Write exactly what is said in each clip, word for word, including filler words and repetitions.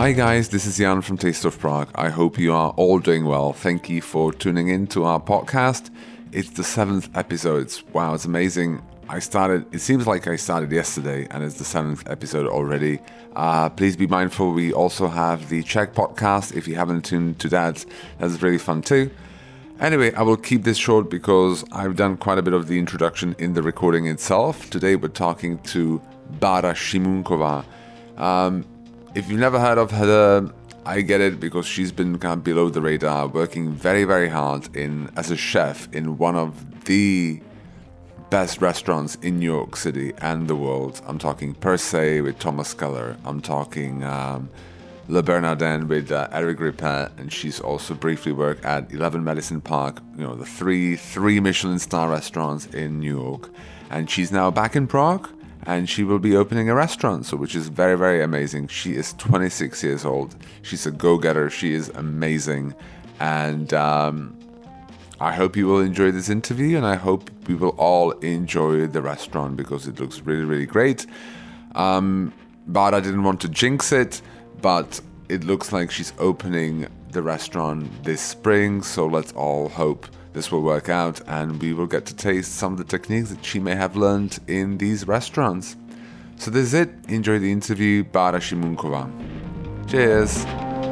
Hi guys, this is Jan from Taste of Prague. I hope you are all doing well. Thank you for tuning in to our podcast. It's the seventh episode. Wow, it's amazing. I started, it seems like I started yesterday and it's the seventh episode already. Uh, please be mindful, we also have the Czech podcast. If you haven't tuned to that, that's really fun too. Anyway, I will keep this short because I've done quite a bit of the introduction in the recording itself. Today we're talking to Bára Šimunková. Um, if you've never heard of her, I get it because she's been kind of below the radar, working very, very hard in as a chef in one of the best restaurants in New York City and the world. I'm talking Per Se with Thomas Keller. I'm talking um, Le Bernardin with uh, Eric Ripet, and she's also briefly worked at eleven Madison Park, you know, the three three Michelin star restaurants in New York. And she's now back in Prague, and she will be opening a restaurant, so which is very, very amazing. She is twenty-six years old. She's a go-getter. She is amazing, and um, I hope you will enjoy this interview, and I hope we will all enjoy the restaurant because it looks really, really great. Um, Bára didn't want to jinx it, but it looks like she's opening the restaurant this spring, so let's all hope this will work out and we will get to taste some of the techniques that she may have learned in these restaurants. So this is it. Enjoy the interview. Bára Šimunková. Cheers.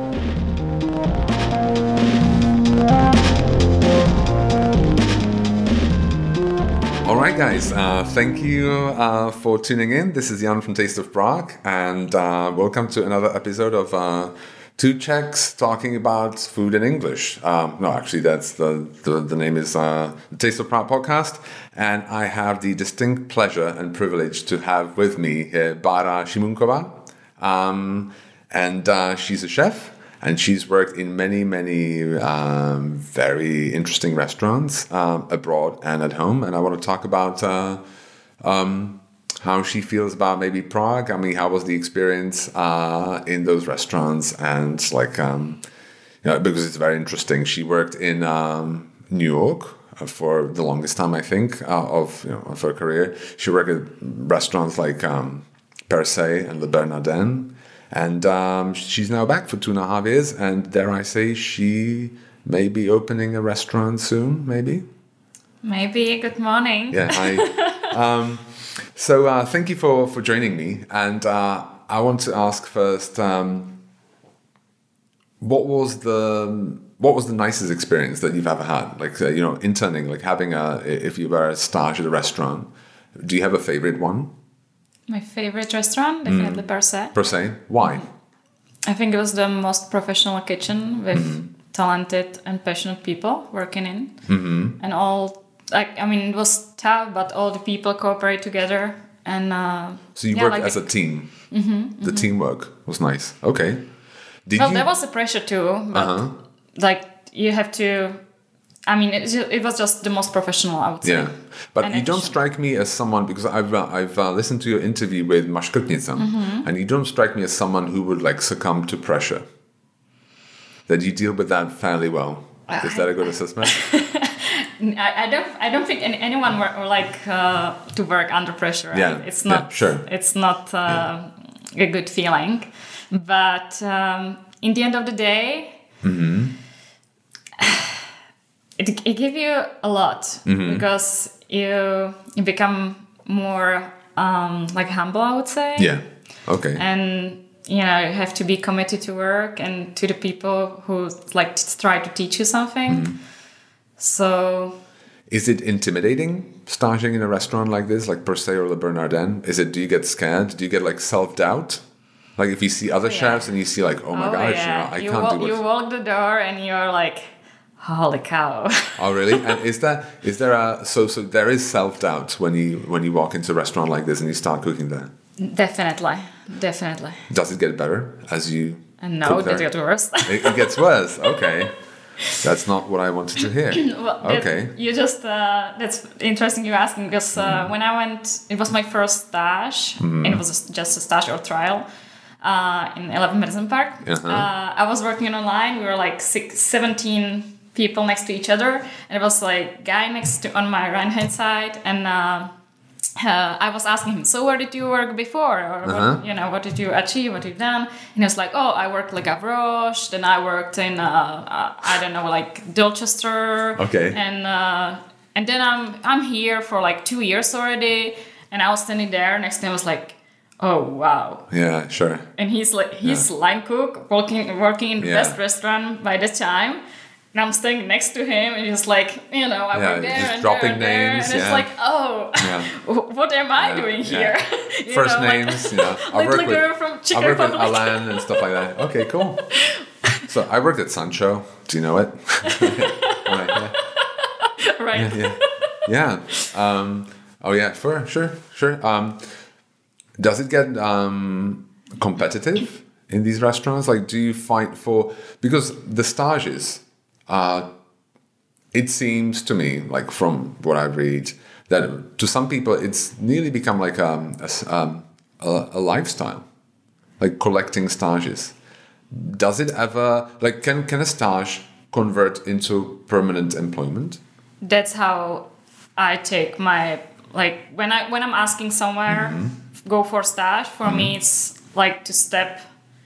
Alright guys, uh, thank you uh, for tuning in. This is Jan from Taste of Prague, and uh, welcome to another episode of uh, Two Czechs talking about food in English. Um, no, actually, that's the, the, the name is uh, the Taste of Prague podcast, and I have the distinct pleasure and privilege to have with me here Bára Šimunková, um, and uh, she's a chef. And she's worked in many, many um, very interesting restaurants um, abroad and at home. And I want to talk about uh, um, how she feels about maybe Prague. I mean, how was the experience uh, in those restaurants? And like, um, you know, because it's very interesting. She worked in um, New York for the longest time, I think, uh, of, you know, of her career. She worked at restaurants like um, Per Se and Le Bernardin. And um, she's now back for two and a half years, and dare I say, she may be opening a restaurant soon, maybe? Maybe. Good morning. Yeah, hi. um, so uh, thank you for, for joining me. And uh, I want to ask first, um, what was the what was the nicest experience that you've ever had? Like, uh, you know, interning, like having a, if you were a stage at a restaurant, do you have a favorite one? My favorite restaurant, definitely mm. Per Se. Per Se? Why? I think it was the most professional kitchen with mm-hmm. talented and passionate people working in. Mm-hmm. And all, like, I mean, it was tough, but all the people cooperate together. And uh, So you yeah, worked like as the, a team. Mm-hmm, the mm-hmm. teamwork was nice. Okay. Did well, you... there was a pressure too, but uh-huh. like you have to... I mean, it, it was just the most professional, I would say. Yeah, but and you don't strike me as someone, because I've uh, I've uh, listened to your interview with Maškrtnica, mm-hmm. and you don't strike me as someone who would like succumb to pressure. That you deal with that fairly well. Is that a good assessment? I, I don't I don't think any, anyone were, or like uh, to work under pressure. Right? Yeah, it's not. Yeah, sure. It's not uh, yeah. a good feeling, but um, in the end of the day. Mm-hmm. It, it gives you a lot mm-hmm. because you you become more um, like humble, I would say. Yeah. Okay. And you know you have to be committed to work and to the people who like try to teach you something. Mm-hmm. So. Is it intimidating starting in a restaurant like this, like Per Se or Le Bernardin? Is it? Do you get scared? Do you get like self doubt? Like if you see other oh, yeah. chefs and you see like, oh my oh, gosh, yeah. you know, I you can't walk, do what. You walk the door and you're like. Holy cow! Oh really? And is that is there a so so there is self doubt when you when you walk into a restaurant like this and you start cooking there? Definitely, definitely. Does it get better as you? And no, it gets worse. it, it gets worse. Okay, that's not what I wanted to hear. well, okay, it, you just uh, that's interesting you asking because uh, mm. when I went, it was my first stage, mm. and it was just a stage or trial. Uh, in eleven Madison Park. Uh-huh. Uh, I was working online. We were like six, seventeen people next to each other, and it was like guy next to on my right hand side and uh, uh, I was asking him, so where did you work before? Or Uh-huh. what, you know, what did you achieve? What did you done? And he was like, oh, I worked like Gavroche. Then I worked in, uh, uh, I don't know, like Dorchester. Okay. And uh, and then I'm I'm here for like two years already. And I was standing there next to him. I was like, oh wow. Yeah, sure. And he's like he's line cook working working in the Yeah. best restaurant by the time. And I'm standing next to him, and he's like, you know, I Yeah, work there just and dropping there and there. names, And it's yeah. like, oh, Yeah. what am I Yeah, doing yeah. here? You First know, like- names, yeah. I like work the with, girl from Czech I work with Republic. Alan and stuff like that. Okay, cool. So I worked at Sancho. Do you know it? Right, yeah. Right. Yeah. Yeah. Um, oh yeah, sure, sure, sure. Um, does it get um, competitive in these restaurants? Like, do you fight for, because the stages are, it seems to me, like from what I read, that to some people it's nearly become like um, a, s- um, a, a lifestyle, like collecting stages. Does it ever, like, can, can a stage convert into permanent employment? That's how I take my like when I when I'm asking somewhere go for stage. For me, it's like to step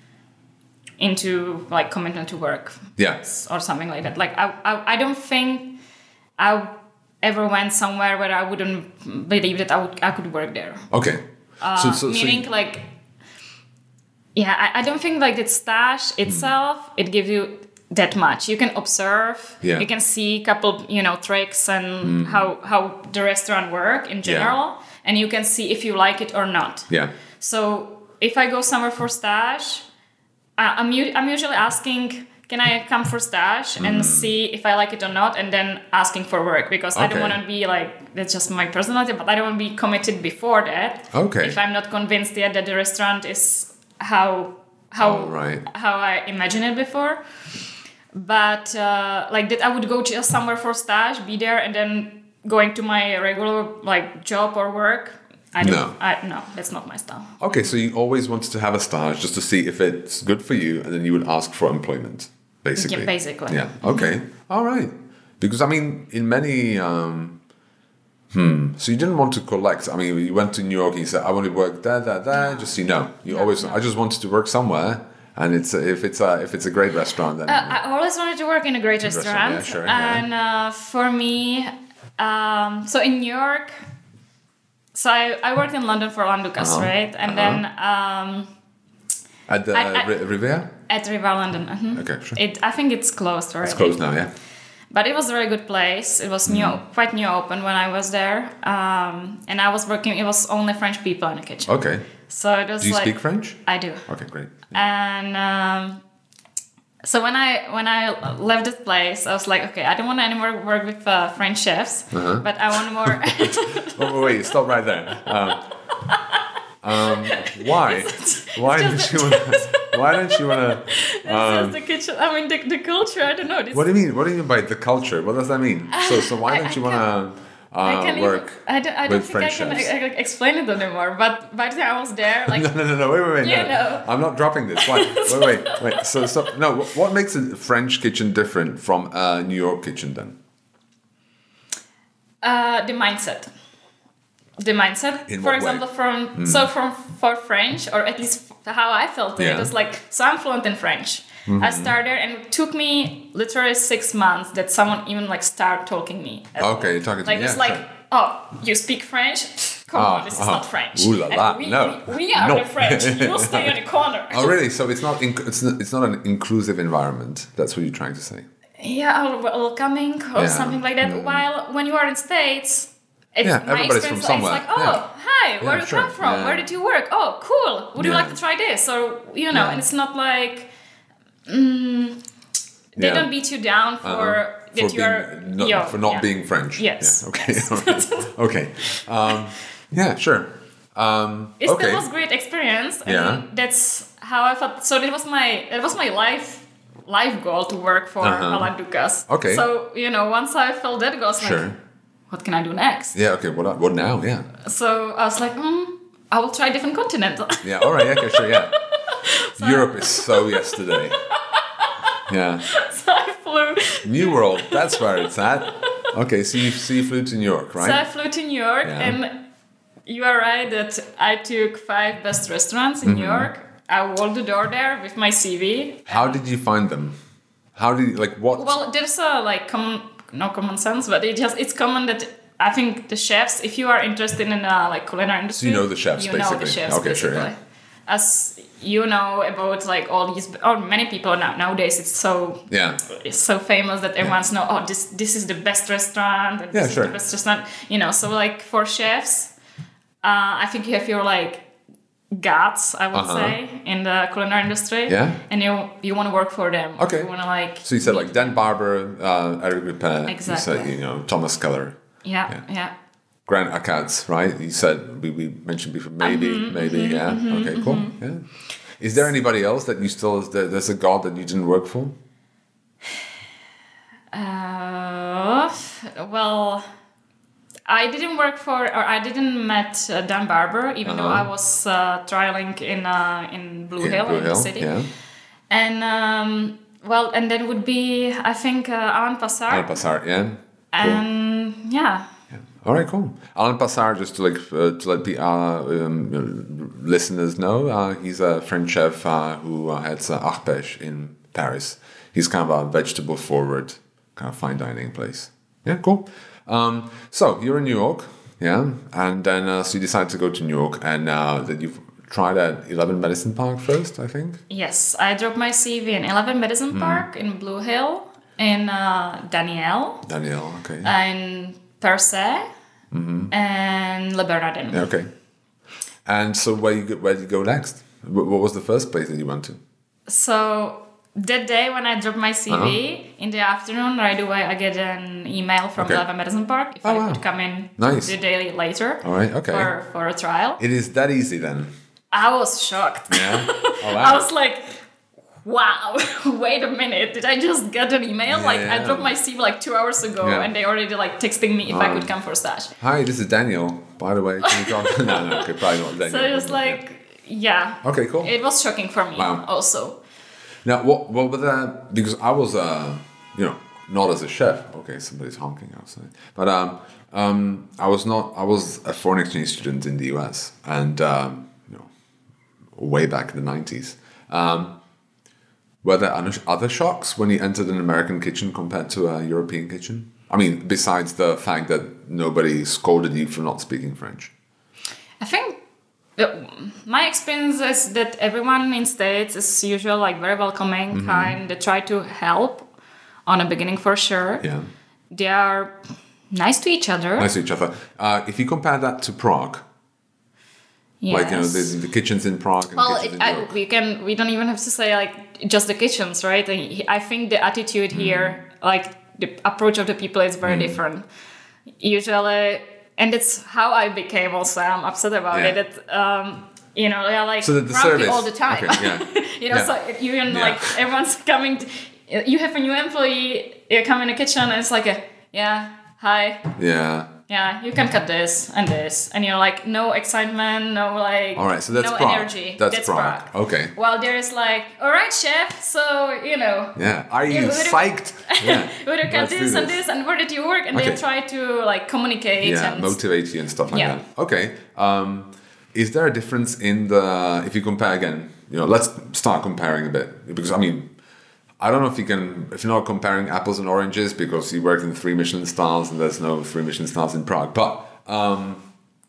into like commitment to work. Yeah. Or something like that. Like I, I, I don't think I ever went somewhere where I wouldn't believe that I would I could work there. Okay. Uh, so, so, meaning so like, yeah, I, I don't think like the stage itself it gives you that much. You can observe. Yeah. You can see a couple you know tricks and how how the restaurant work in general, and you can see if you like it or not. yeah. So if I go somewhere for stage, I- I'm u- I'm usually asking, can I come for stage and see if I like it or not, and then asking for work, because I don't Okay. want to be like, that's just my personality, but I don't want to be committed before that. Okay. If I'm not convinced yet that the restaurant is how how Oh, right. how I imagined it before. But uh, like that, I would go just somewhere for stage, be there, and then going to my regular like job or work. I don't. No. I, no, that's not my style. Okay, so you always wanted to have a stage just to see if it's good for you, and then you would ask for employment, basically. Yeah, basically. Yeah. Okay. All right. Because I mean, in many, um, hmm. So you didn't want to collect. I mean, you went to New York and you said, "I want to work there, there, there." Just so you know, you No, always. no. I just wanted to work somewhere, and it's a, if it's a if it's a great restaurant, then Uh, I always wanted to work in a great Restaurant, restaurant, yeah, sure, yeah. and uh, for me, um, so in New York, so I, I worked in London for Alan Ducasse, Uh-huh, right, and uh-huh. then um, at the I- I- Ri- Riviera. at Riva London. mhm. Okay, sure. It I think it's closed already. It's closed now. Yeah. But it was a very good place. It was new, Mm-hmm. quite new open when I was there, um, and I was working. It was only French people in the kitchen, Okay. so it was Do you like speak French? I do. Okay, great. And um, so when I when I left this place, I was like, okay, I don't want to anymore work with uh, French chefs, Uh-huh. but I want more. Oh, wait, stop right there. Um, um, why? Why don't just you? Wanna, why don't you want to? It's just the kitchen. I mean, the, the culture. I don't know. This, What do you mean? What do you mean by the culture? What does that mean? So, so why I- don't I you want to I uh, can't work? even, I don't, I don't with think I French can chefs? uh, uh, explain it anymore. But by the time I was there, like No, no, no, no. Wait, wait, wait. You no. know. I'm not dropping this. Why? Wait, wait, wait. So, so no. wh- What makes a French kitchen different from a New York kitchen then? uh, the mindset. The mindset. In for what way? example, from so from for French, or at least how I felt it, Yeah. it was like so I'm fluent in French. I started, and it took me literally six months that someone even like start talking me. Okay, you're talking to Like me. it's Yeah, like, sure. oh, you speak French? Come Ah, on, this is uh-huh. not French. Ooh la And la, we, no. we, we are No. the French. You stay in the corner. Oh, really? So it's not. Inc- it's not. It's not an inclusive environment. That's what you're trying to say. Yeah, or welcoming or Yeah. something like that. Mm. While when you are in States, it's Yeah, my everybody's from experience. somewhere. It's like, oh, Yeah. hi, where Yeah, do you sure. come from? Yeah. Where did you work? Oh, cool. Would you Yeah. like to try this? Or you know, Yeah. and it's not like mm, they Yeah. don't beat you down for Uh-huh. that for you are being, not, yo, for not yeah. being French. Yes. Yeah, okay. all right. Okay. Um, yeah. Sure. Um, It okay. still was great experience, and Yeah. that's how I felt. So that was my that was my life life goal to work for Uh-huh. Alan Ducasse. Okay. So you know, once I felt that goal, I was Sure. like, what can I do next? Yeah. Okay. What? What now? Yeah. So I was like, mm, I will try different continent. Yeah. All right. Yeah. Okay. Sure. Yeah. Europe is so yesterday. Yeah. So I flew. New World. That's where it's at. Okay. So you, so you flew to New York, right? So I flew to New York, Yeah. and you are right that I took five best restaurants in mm-hmm. New York. I walked the door there with my C V. How did you find them? How did you, like, what? Well, there's a, like, common, no common sense, but it just, it's common that I think the chefs, if you are interested in, uh, like, culinary industry. So you know the chefs, you basically. know the chefs, okay, basically. Sure, yeah. As you know about, like, all these, or many people now, nowadays, it's so, yeah. it's so famous that everyone's yeah. know, oh, this, this is the best restaurant, and yeah, this sure. is the best restaurant, you know, so, like, for chefs, uh, I think you have your, like, gods, I would uh-huh. say, in the culinary industry. Yeah. And you you want to work for them. Okay. You want to like. So you said like Dan Barber, uh, Eric Ripin. Exactly. You said, you know, Thomas Keller. Yeah, yeah. yeah. Grant Achatz, right? You said we, we mentioned before. Maybe, mm-hmm, maybe, mm-hmm, yeah. Mm-hmm, okay, cool. Mm-hmm. Yeah. Is there anybody else that you still? There's a god that you didn't work for? Uh, well. I didn't work for, or I didn't met uh, Dan Barber, even uh-huh. though I was uh, trialing in uh, in Blue in Hill Blue in Hill, the city. Yeah. And um, well, and then would be I think uh, Alain Passard. Alain Passard, yeah. Cool. And yeah. yeah. All right, cool. Alain Passard, just to like uh, to let the uh, um, listeners know, uh, he's a French chef uh, who uh, heads uh, Arpège in Paris. He's kind of a vegetable forward kind of fine dining place. Yeah, cool. Um, so you're in New York, yeah, and then uh, so you decide to go to New York, and uh, that you've tried at eleven Madison Park first, I think. Yes, I dropped my C V in eleven Madison mm. Park in Blue Hill, in uh, Daniel. Daniel, okay. In Percé, mm-hmm. and Le Bernardin. Yeah, okay. And so where you go, where did you go next? What was the first place that you went to? So. That day when I dropped my C V, uh-huh. in the afternoon, right away, I get an email from okay. eleven Madison Park if oh, I wow. could come in nice. the day later All right, okay. for, for a trial. It is that easy then? I was shocked. Yeah? Oh, wow. I was like, wow, wait a minute. Did I just get an email? Yeah, like, yeah. I dropped my C V like two hours ago yeah. and they already like texting me if um, I could come for stash. Hi, this is Daniel, by the way. Can you come? no, no, okay, probably not Daniel. So it was like, yeah. Okay, cool. It was shocking for me wow. also. Now, what what was that? Because I was, uh, you know, not as a chef. Okay, somebody's honking outside. But um, um, I was not. I was a foreign exchange student in the U S, and um, you know, way back in the nineties. Um, were there other shocks when you entered an American kitchen compared to a European kitchen? I mean, besides the fact that nobody scolded you for not speaking French. I think. My experience is that everyone in States is usually like very welcoming, mm-hmm. kind. They try to help on the beginning for sure. Yeah, they are nice to each other. Nice to each other. Uh, if you compare that to Prague, yes. like you know, the, the kitchens in Prague. And well, kitchens in I, we can. We don't even have to say like just the kitchens, right? I think the attitude mm. here, like the approach of the people, is very mm. different. Usually. And it's how I became also, I'm upset about yeah. it, that, um, you know, they're like so the grumpy all the time. Okay, yeah. you know, yeah. so even yeah. like everyone's coming, to, you have a new employee, you come in the kitchen and it's like a, yeah, hi. Yeah. Yeah, you can cut this and this. And you're like, no excitement, no like, all right, so that's no Prague. energy. That's, that's Prague. Prague. Okay. Well, there's like, all right, chef, so, you know. Yeah, are you yeah, psyched? Yeah. We would cut this, this and this, and where did you work? And okay. they try to like communicate. Yeah, and motivate you and stuff like yeah. that. Okay. Um, is there a difference in the, if you compare again, you know, let's start comparing a bit. Because, I mean, I don't know if you can, if you're not comparing apples and oranges because you worked in three Michelin stars and there's no three Michelin stars in Prague. But um,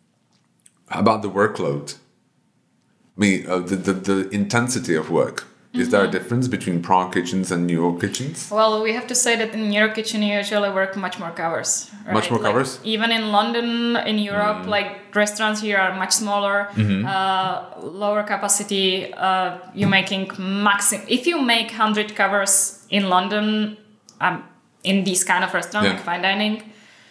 about the workload, I mean, uh, the, the, the intensity of work. Is mm-hmm. there a difference between Prague kitchens and New York kitchens? Well, we have to say that in New York kitchen you usually work much more hours. Right? Much more like, hours? Even in London, in Europe, mm. like restaurants here are much smaller, mm-hmm. uh, lower capacity. Uh, you're making maximum. If you make one hundred covers in London, um, in these kind of restaurants, yeah. like fine dining,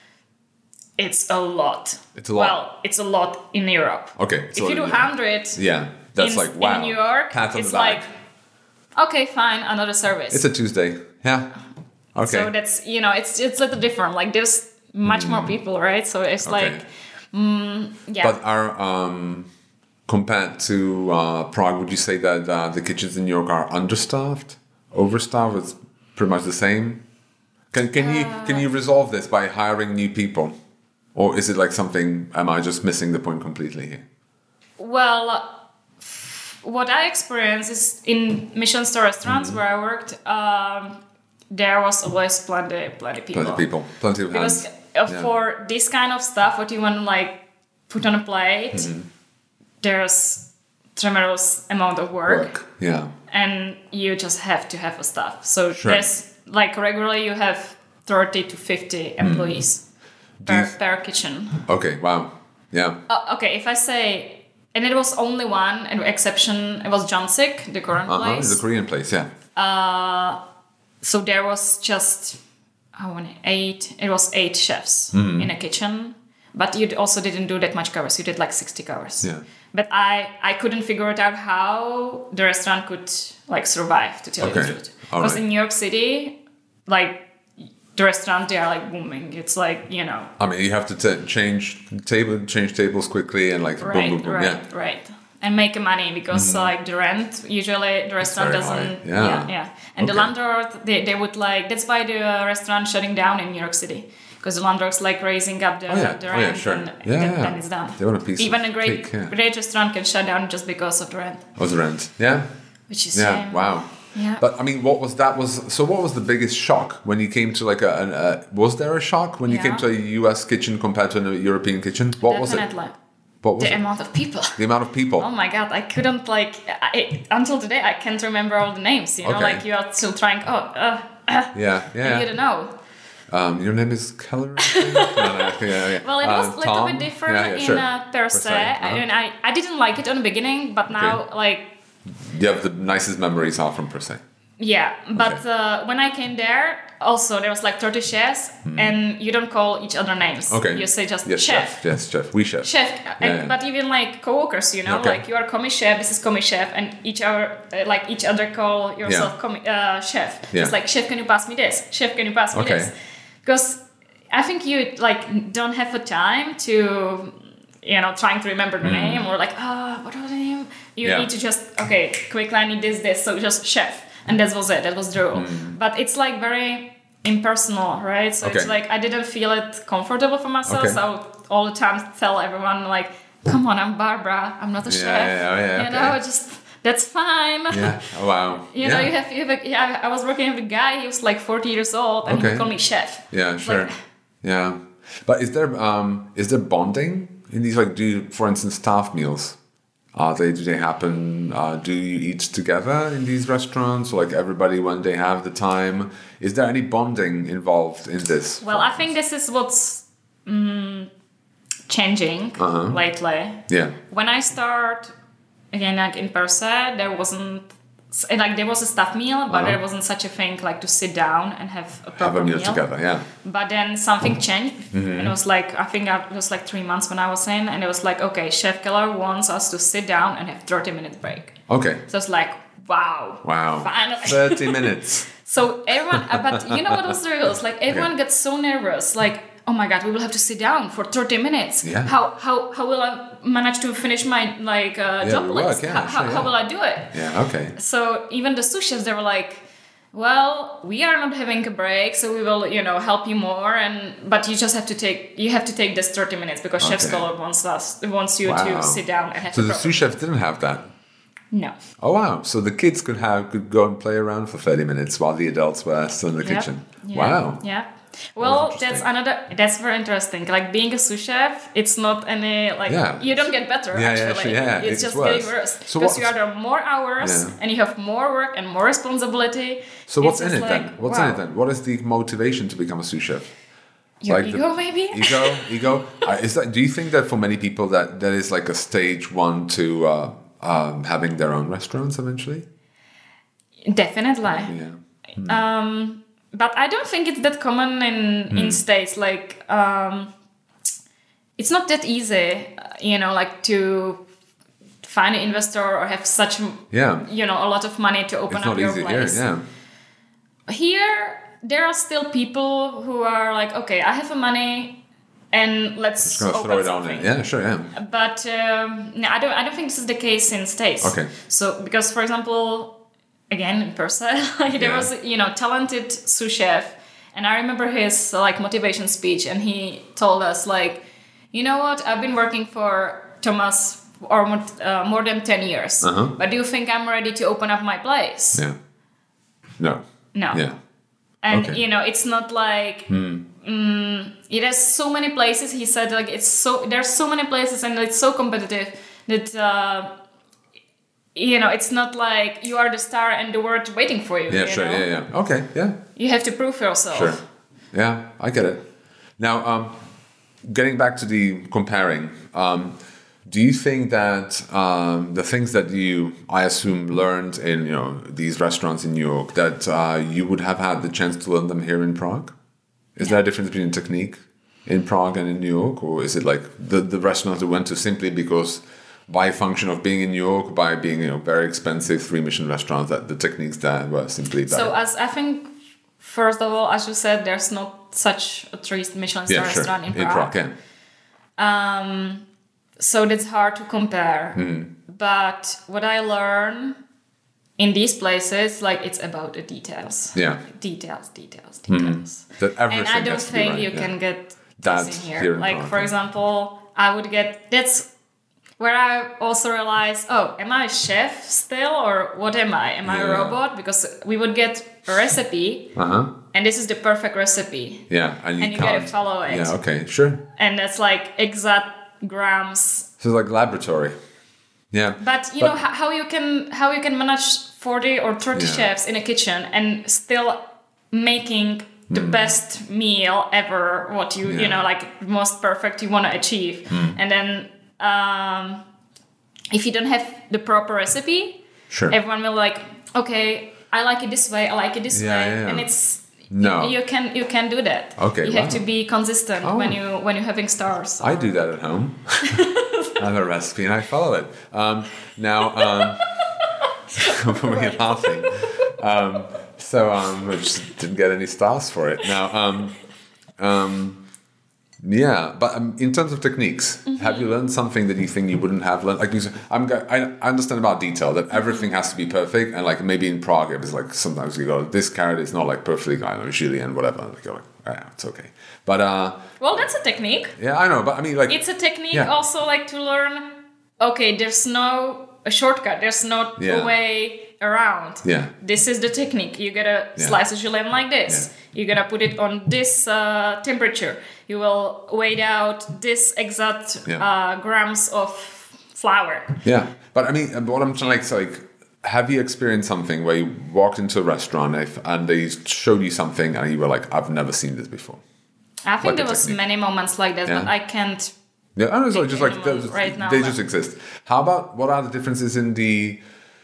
it's a lot. It's a lot. Well, it's a lot in Europe. Okay. If you do one hundred, yeah, that's in, like wow. in New York, Pat on it's the back. like. Okay, fine, another service. It's a Tuesday. Yeah. Okay. So that's, you know, it's it's a little different. Like there's much mm. more people, right? So it's okay. like, mm, yeah. But are, um, compared to uh, Prague, would you say that uh, the kitchens in New York are understaffed, overstaffed? It's pretty much the same? Can can uh, you can you resolve this by hiring new people? Or is it like something, am I just missing the point completely here? Well, what I experienced is in Michelin star restaurants mm-hmm. where I worked, um, there was always plenty, plenty people. Plenty of people, plenty of because hands. Because yeah. for this kind of stuff, what you want to like put on a plate, mm-hmm. there's tremendous amount of work. Work, yeah. And you just have to have a staff. So sure. there's like regularly you have thirty to fifty employees mm. per, th- per kitchen. Okay, wow. Yeah. Uh, okay, if I say... And it was only one an exception. It was Jansik, the Korean uh-huh, place. The Korean place, yeah. Uh, so there was just I want eight. It was eight chefs mm. in a kitchen, but you also didn't do that much covers. You did like sixty covers. Yeah. But I I couldn't figure it out how the restaurant could like survive. To tell okay. you the truth, All because right. in New York City, like. The restaurant, they are like booming. It's like, you know. I mean, you have to t- change table, change tables quickly, and like right, boom, boom, boom. Right, yeah. right. And make money because mm. like the rent usually the restaurant doesn't. Yeah. yeah, yeah. And okay. the landlord, they, they would like. That's why the uh, restaurant shutting down in New York City because the landlord's like raising up the, oh, yeah. the rent, oh, yeah, sure. and yeah, then, yeah. then it's done. They want a piece. Even of a great, cake, yeah. great restaurant can shut down just because of the rent. Oh, the rent, yeah. Which is yeah. shame. Wow. Yeah. But I mean, what was that? Was so? What was the biggest shock when you came to like a? An, a was there a shock when you yeah. came to a U S kitchen compared to a European kitchen? What Definitely. was it? What was the it? amount of people. The amount of people. Oh my god! I couldn't like I, until today. I can't remember all the names. You know, okay. like you are still trying. Oh, uh, uh, yeah, yeah. You don't know. Um, your name is Keller. no, no, yeah, yeah. Well, it was uh, a little Tom? bit different yeah, yeah, in sure. uh, per se. Uh-huh. I mean, I, I didn't like it on the beginning, but now okay. like. You have the nicest memories are from per se. Yeah, but okay. uh, when I came there, also there was like thirty chefs, mm. and you don't call each other names. Okay. You say just yes, chef. chef. Yes, chef. We chef. Chef, yeah, and, yeah. but even like co-workers, you know, okay. like you are commis chef, this is commis chef, and each other, uh, like each other call yourself yeah. commis uh, chef. Yeah. It's like chef, can you pass me this? Chef, can you pass me okay. this? Because I think you like don't have a time to. You know, trying to remember the mm. name or like, ah, oh, what was the name? You yeah. need to just, okay, quickly, I need this, this. So just chef. And that was it. That was the rule. Mm. But it's like very impersonal, right? So okay. it's like I didn't feel it comfortable for myself. Okay. So I would all the time tell everyone like, come on, I'm Barbara. I'm not a yeah, chef. Yeah, oh, yeah, you okay. know, just, that's fine. Yeah, oh, wow. you yeah. know, you have, you have a, yeah, I was working with a guy, he was like forty years old and okay. he would call me chef. Yeah, sure. Like, yeah. But is there um is there bonding in these, like, do you, for instance, staff meals? Are they, do they happen, uh, do you eat together in these restaurants? Or like everybody when they have the time? Is there any bonding involved in this? Well, I think this is what's um, changing uh-huh. lately. Yeah. When I start, again, like in per se, there wasn't, like there was a staff meal, but uh-huh. there wasn't such a thing like to sit down and have a proper have a meal, meal together, yeah. But then something changed, mm-hmm. and it was like I think it was like three months when I was in, and it was like, okay, Chef Keller wants us to sit down and have thirty minutes break. Okay. So it's like, wow, wow, finally, thirty minutes. So everyone, uh, but you know what was the rules? Like everyone okay. gets so nervous, like, oh my god, we will have to sit down for thirty minutes. Yeah. How how how will I manage to finish my like uh, yeah, job work, list? yeah, how, sure, how, yeah. how will I do it? Yeah. Okay. So even the sous chefs, they were like, well, we are not having a break, so we will, you know, help you more, and but you just have to take you have to take this thirty minutes because okay. Chef Keller wants us wants you wow. to sit down and have. So to the pro- sous chefs didn't have that. No. Oh wow! So the kids could have could go and play around for thirty minutes while the adults were still in the yep. kitchen. Yeah. Wow. Yeah. Well, that that's another. That's very interesting. Like being a sous chef, it's not any like yeah. you don't get better. Yeah, actually, yeah, yeah. it's, it's just worse. getting worse So because you what's- are there more hours yeah. and you have more work and more responsibility. So what's It's in it just then? like, What's wow. in it then? What is the motivation to become a sous chef? Your like ego, the, maybe. Ego, ego. uh, is that? Do you think that for many people that that is like a stage one to uh, um, having their own restaurants eventually? Definitely. Yeah. Hmm. Um, but I don't think it's that common in Hmm. in states. Like, um, it's not that easy, you know, like to find an investor or have such, Yeah. you know, a lot of money to open It's up not your easy place. here. Yeah. Here, there are still people who are like, okay, I have the money, and let's Just gonna open throw it something. on it. Yeah. Sure. Yeah. But um, no, I don't. I don't think this is the case in states. Okay. So because, for example, again in person, like, there Yeah. was you know talented sous chef, And I remember his like motivation speech, and he told us like, you know what, I've been working for Thomas or uh, more than ten years, uh-huh. but do you think I'm ready to open up my place? Yeah. No. No. Yeah. And okay. you know, it's not like hmm. um, it has so many places. He said like it's so there's so many places, and it's so competitive that uh, you know, it's not like you are the star and the world waiting for you. Yeah, you sure. know? Yeah, yeah. Okay, yeah. You have to prove yourself. Sure. Yeah, I get it. Now, um, getting back to the comparing, um, do you think that um, the things that you, I assume, learned in you know these restaurants in New York, that uh, you would have had the chance to learn them here in Prague? Is yeah. there a difference between technique in Prague and in New York, or is it like the the restaurants you went to simply because by function of being in New York, by being you know very expensive three Michelin restaurants, that the techniques there were simply better? So as I think, first of all, as you said, there's not such a three Michelin star yeah, sure. restaurant in Prague. In Prague, yeah. Um, so that's hard to compare. Mm. But what I learn in these places, like it's about the details. Yeah. Details, details, details. Mm. That everything and I don't has to think be right, you yeah. can get that this in here. here in like Prague, for yeah. example, I would get that's where I also realized, oh, am I a chef still, or what am I? Am I yeah. a robot? Because we would get a recipe, uh-huh. and this is the perfect recipe. Yeah, and you, and you can't. gotta follow it. Yeah, okay, sure. And that's like exact grams. So it's like laboratory. Yeah. But you but, know how, how you can how you can manage forty or thirty yeah. chefs in a kitchen and still making the mm. best meal ever. What you yeah. you know like most perfect you want to achieve, mm. and then. Um, if you don't have the proper recipe, sure. everyone will like, okay, I like it this way, I like it this yeah, way, yeah, yeah. and it's no, you, you can you can do that. Okay, you wow. have to be consistent oh. when you when you're having stars. I do that at home. I have a recipe and I follow it. Um, now, um, we're laughing. Um, so um, I just didn't get any stars for it. Now. Um, um, Yeah, but um, in terms of techniques, mm-hmm. have you learned something that you think you wouldn't have learned? Like, I'm, I understand about detail that everything has to be perfect, and like maybe in Prague it was like sometimes you go, this carrot is not like perfectly, I don't know, julienne, whatever. Like, you're like, oh, yeah, it's okay. But uh, well, that's a technique. Yeah, I know, but I mean, like, it's a technique yeah. also like to learn. Okay, there's no a shortcut. There's no yeah. a way around. Yeah, this is the technique. You gotta yeah. slice a julienne like this. Yeah. You gotta put it on this uh, temperature. You will weigh out this exact yeah. uh, grams of flour. Yeah, but I mean, what I'm trying to like, so like, have you experienced something where you walked into a restaurant and they showed you something and you were like, I've never seen this before? I think like there was technique. many moments like that, yeah. but I can't. Yeah, I know, so just like just, right now, they but. just exist. How about what are the differences in the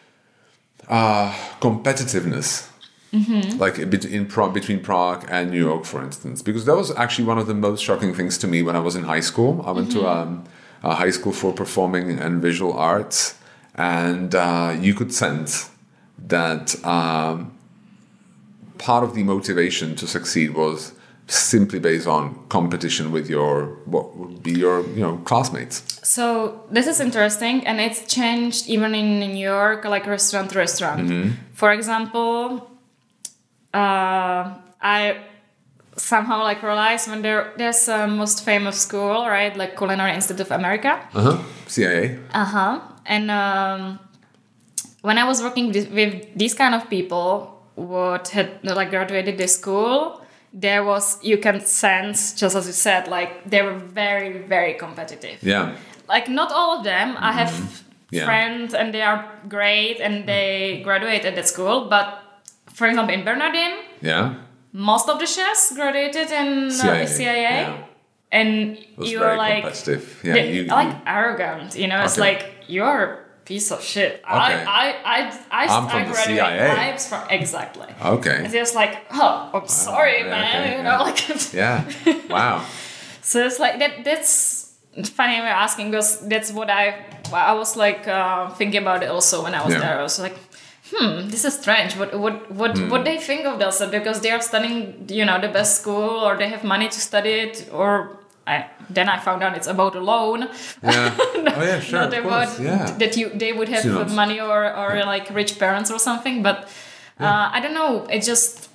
uh, competitiveness? Mm-hmm. Like in Prague, between Prague and New York, for instance, because that was actually one of the most shocking things to me when I was in high school. I went mm-hmm. to um, a high school for performing and visual arts, and uh, you could sense that um, part of the motivation to succeed was simply based on competition with your what would be your you know classmates. So this is interesting, and it's changed even in New York, like restaurant to restaurant. Mm-hmm. For example. Uh, I somehow like realized when there there's a most famous school, right, like Culinary Institute of America. Uh huh. C I A. Uh huh. And um, when I was working with, with these kind of people, what had like graduated this school, there was you can sense just as you said, like they were very very competitive. Yeah. Like not all of them. Mm-hmm. I have yeah. friends and they are great and they graduated at that school, but. For example, in Bernardin, yeah, most of the chefs graduated in C I A, uh, C I A yeah. and you're like, competitive. Yeah, you, like you, arrogant. You know, okay. It's like you're a piece of shit. Okay. I, I, I, I, I'm I from the graduated C I A. vibes from exactly. Okay. And it's like, oh, I'm sorry, oh, man. okay, you yeah. know, like. Yeah. Wow. So it's like that. That's funny you're asking because that's what I. I was like uh, thinking about it also when I was yeah. there. I was like. Hmm, this is strange. What what what mm. what they think of themselves because they are studying, you know, the best school or they have money to study it or I, then I found out it's about a loan. Yeah. not, oh yeah, sure. Not of about course. Yeah. that you they would have Students. money or or yeah. like rich parents or something. But uh, yeah. I don't know. It just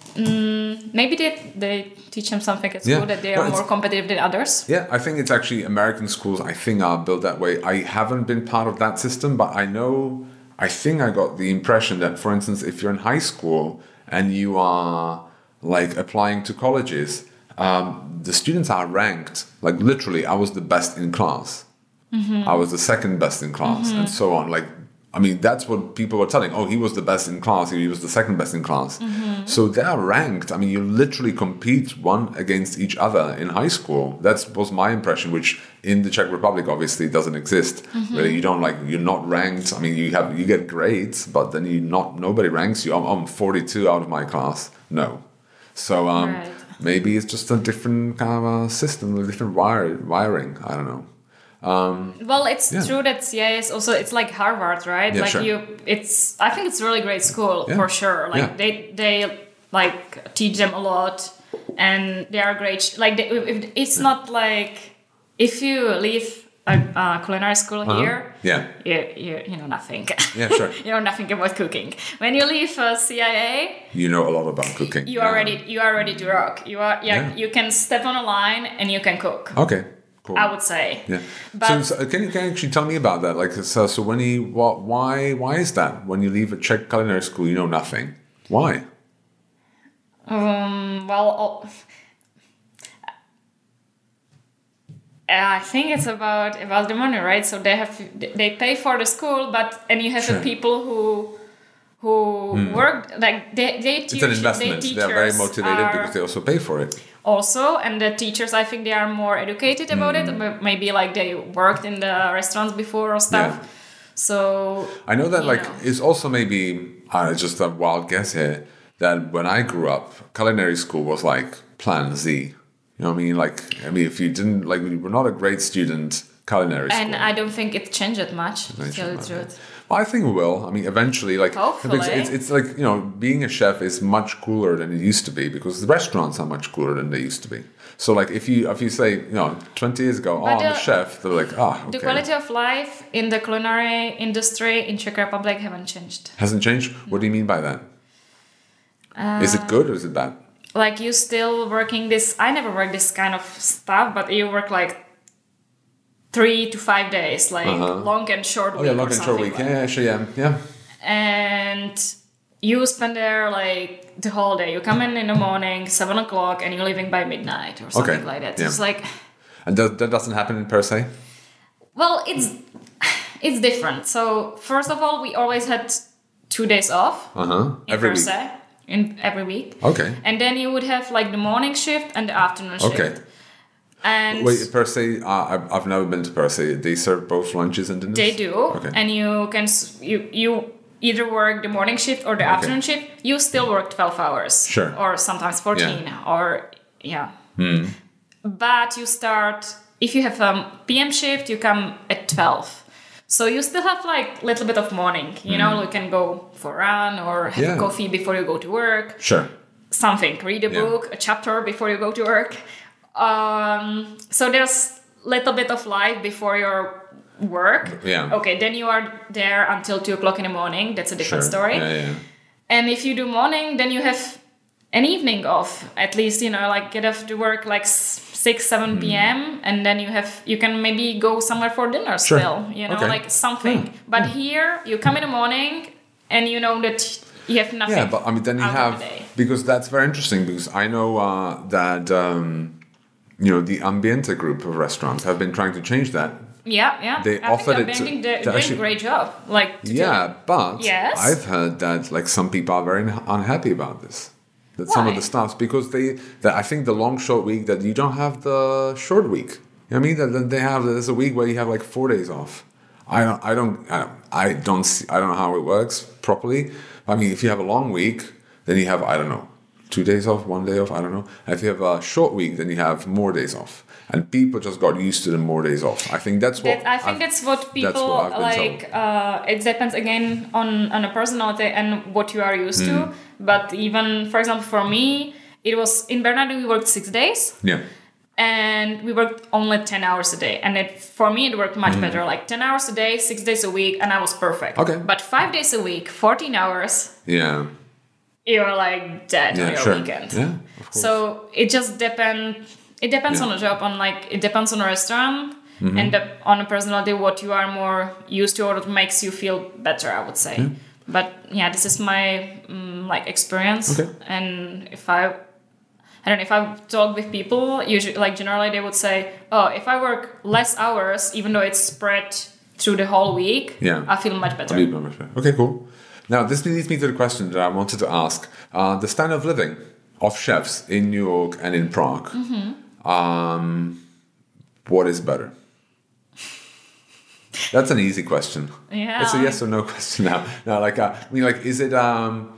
Mm, maybe they, they teach them something at school Yeah. that they are Well, more competitive than others. Yeah, I think it's actually American schools, I think, are built that way. I haven't been part of that system, but I know, I think I got the impression that, for instance, if you're in high school and you are like applying to colleges, um, the students are ranked. Like literally, I was the best in class. Mm-hmm. I was the second best in class, mm-hmm. and so on. Like, I mean, that's what people were telling. Oh, he was the best in class. He was the second best in class. Mm-hmm. So they are ranked. I mean, you literally compete one against each other in high school. That was my impression, which in the Czech Republic obviously doesn't exist. Mm-hmm. Where you don't like, you're not ranked. I mean, you have you get grades, but then you not nobody ranks you. I'm, I'm forty-two out of my class. No. So um, right. maybe it's just a different kind of a system, a different wire, wiring. I don't know. Um, well, it's yeah. true that C I A is also, it's like Harvard, right? Yeah, like sure. you, it's, I think it's a really great school yeah. for sure. Like yeah. they, they like teach them a lot and they are great. Like they, if, it's not like, if you leave a uh, culinary school uh-huh. here, yeah. you, you, you know nothing. Yeah, sure. You know nothing about cooking. When you leave uh, C I A, you know a lot about cooking. You yeah. are ready. You are ready to rock. You are. Yeah, yeah. You can step on a line and you can cook. Okay. Cool. I would say. Yeah. But so, so can you can you actually tell me about that? Like, so, so when you what why why is that when you leave a Czech culinary school you know nothing? Why? Um. Well. Oh, I think it's about about the money, right? So they have they pay for the school, but and you have sure. the people who who mm. work like they they teach. It's an investment. They, they are very motivated are because they also pay for it. Also, and the teachers, I think they are more educated about mm. it. Maybe like they worked in the restaurants before or stuff. Yeah. So I know that like know. it's also maybe uh, just a wild guess here that when I grew up, culinary school was like Plan Z. You know what I mean? Like, I mean, if you didn't, like, you were not a great student, culinary school. And I don't think it changed much, to tell the truth. Well, I think it will. I mean, eventually, like, Hopefully. It's, it's like, you know, being a chef is much cooler than it used to be because the restaurants are much cooler than they used to be. So, like, if you if you say, you know, twenty years ago, but oh, the, I'm a chef, they're like, ah, oh, okay. The quality of life in the culinary industry in Czech Republic haven't changed. Hasn't changed? No. What do you mean by that? Uh, is it good or is it bad? Like you still working this, I never worked this kind of stuff, but you work like three to five days, like uh-huh. long and short week. Oh yeah, long and short week. Like. Yeah, actually, yeah, yeah. And you spend there like the whole day. You come in in the morning, seven o'clock, and you're leaving by midnight or something okay. like that. Yeah. It's like. And that, that doesn't happen in per se? Well, it's it's different. So first of all, we always had two days off. Uh huh. Every week. Se, in every week. Okay. And then you would have like the morning shift and the afternoon shift. Okay. And wait, per se, uh, I've, I've never been to per se. They serve both lunches and dinners? They do. Okay. And you can you you either work the morning shift or the okay. afternoon shift. You still work twelve hours. Sure. Or sometimes fourteen yeah. or yeah. Hmm. But you start if you have a P M shift, you come at twelve. So you still have like a little bit of morning, you mm. know, you can go for a run or have yeah. a coffee before you go to work. Sure. Something, read a yeah. book, a chapter before you go to work. Um, so there's a little bit of life before your work. Yeah. Okay, then you are there until two o'clock in the morning. That's a different sure. story. Yeah, yeah. And if you do morning, then you have an evening off. At least, you know, like get off to work like six, seven p.m. and then you have you can maybe go somewhere for dinner sure. still, you know, okay. like something. Yeah. But yeah. here you come in the morning and you know that you have nothing. Yeah, but I mean then you have the because that's very interesting because I know uh, that um, you know the Ambiente group of restaurants have been trying to change that. Yeah, yeah. They I offered think it to, to, they're to doing actually, a great job. Like to yeah, do. but yes? I've heard that like some people are very unhappy about this. That Why? some of the staffs because they that I think the long short week that you don't have the short week. You know what I mean? That they have there's a week where you have like four days off. I don't I don't I don't, I don't see I don't know how it works properly. I mean, if you have a long week, then you have I don't know two days off, one day off. I don't know. And if you have a short week, then you have more days off. And people just got used to the more days off. I think that's what that, I think I've, that's what people that's what like. Uh, it depends again on on a personality and what you are used mm. to. But even for example, for me, it was in Bernardo we worked six days. Yeah. And we worked only ten hours a day, and it for me it worked much mm. better. Like ten hours a day, six days a week, and I was perfect. Okay. But five days a week, fourteen hours. Yeah. you're like dead yeah, on your sure. weekend. Yeah, of course. So it just depends. It depends yeah. on the job. On like it depends on the restaurant mm-hmm. and the, on a personality what you are more used to or what makes you feel better. I would say. Yeah. But yeah, this is my um, like experience. Okay. And if I, I don't know, if I talk with people, usually like generally they would say, oh, if I work less hours, even though it's spread through the whole week, yeah. I feel much better. Okay, cool. Now this leads me to the question that I wanted to ask: uh, the standard of living of chefs in New York and in Prague. Mm-hmm. Um, what is better? That's an easy question. Yeah. It's a yes or no question now. Now, like, uh, I mean, like, is it, um,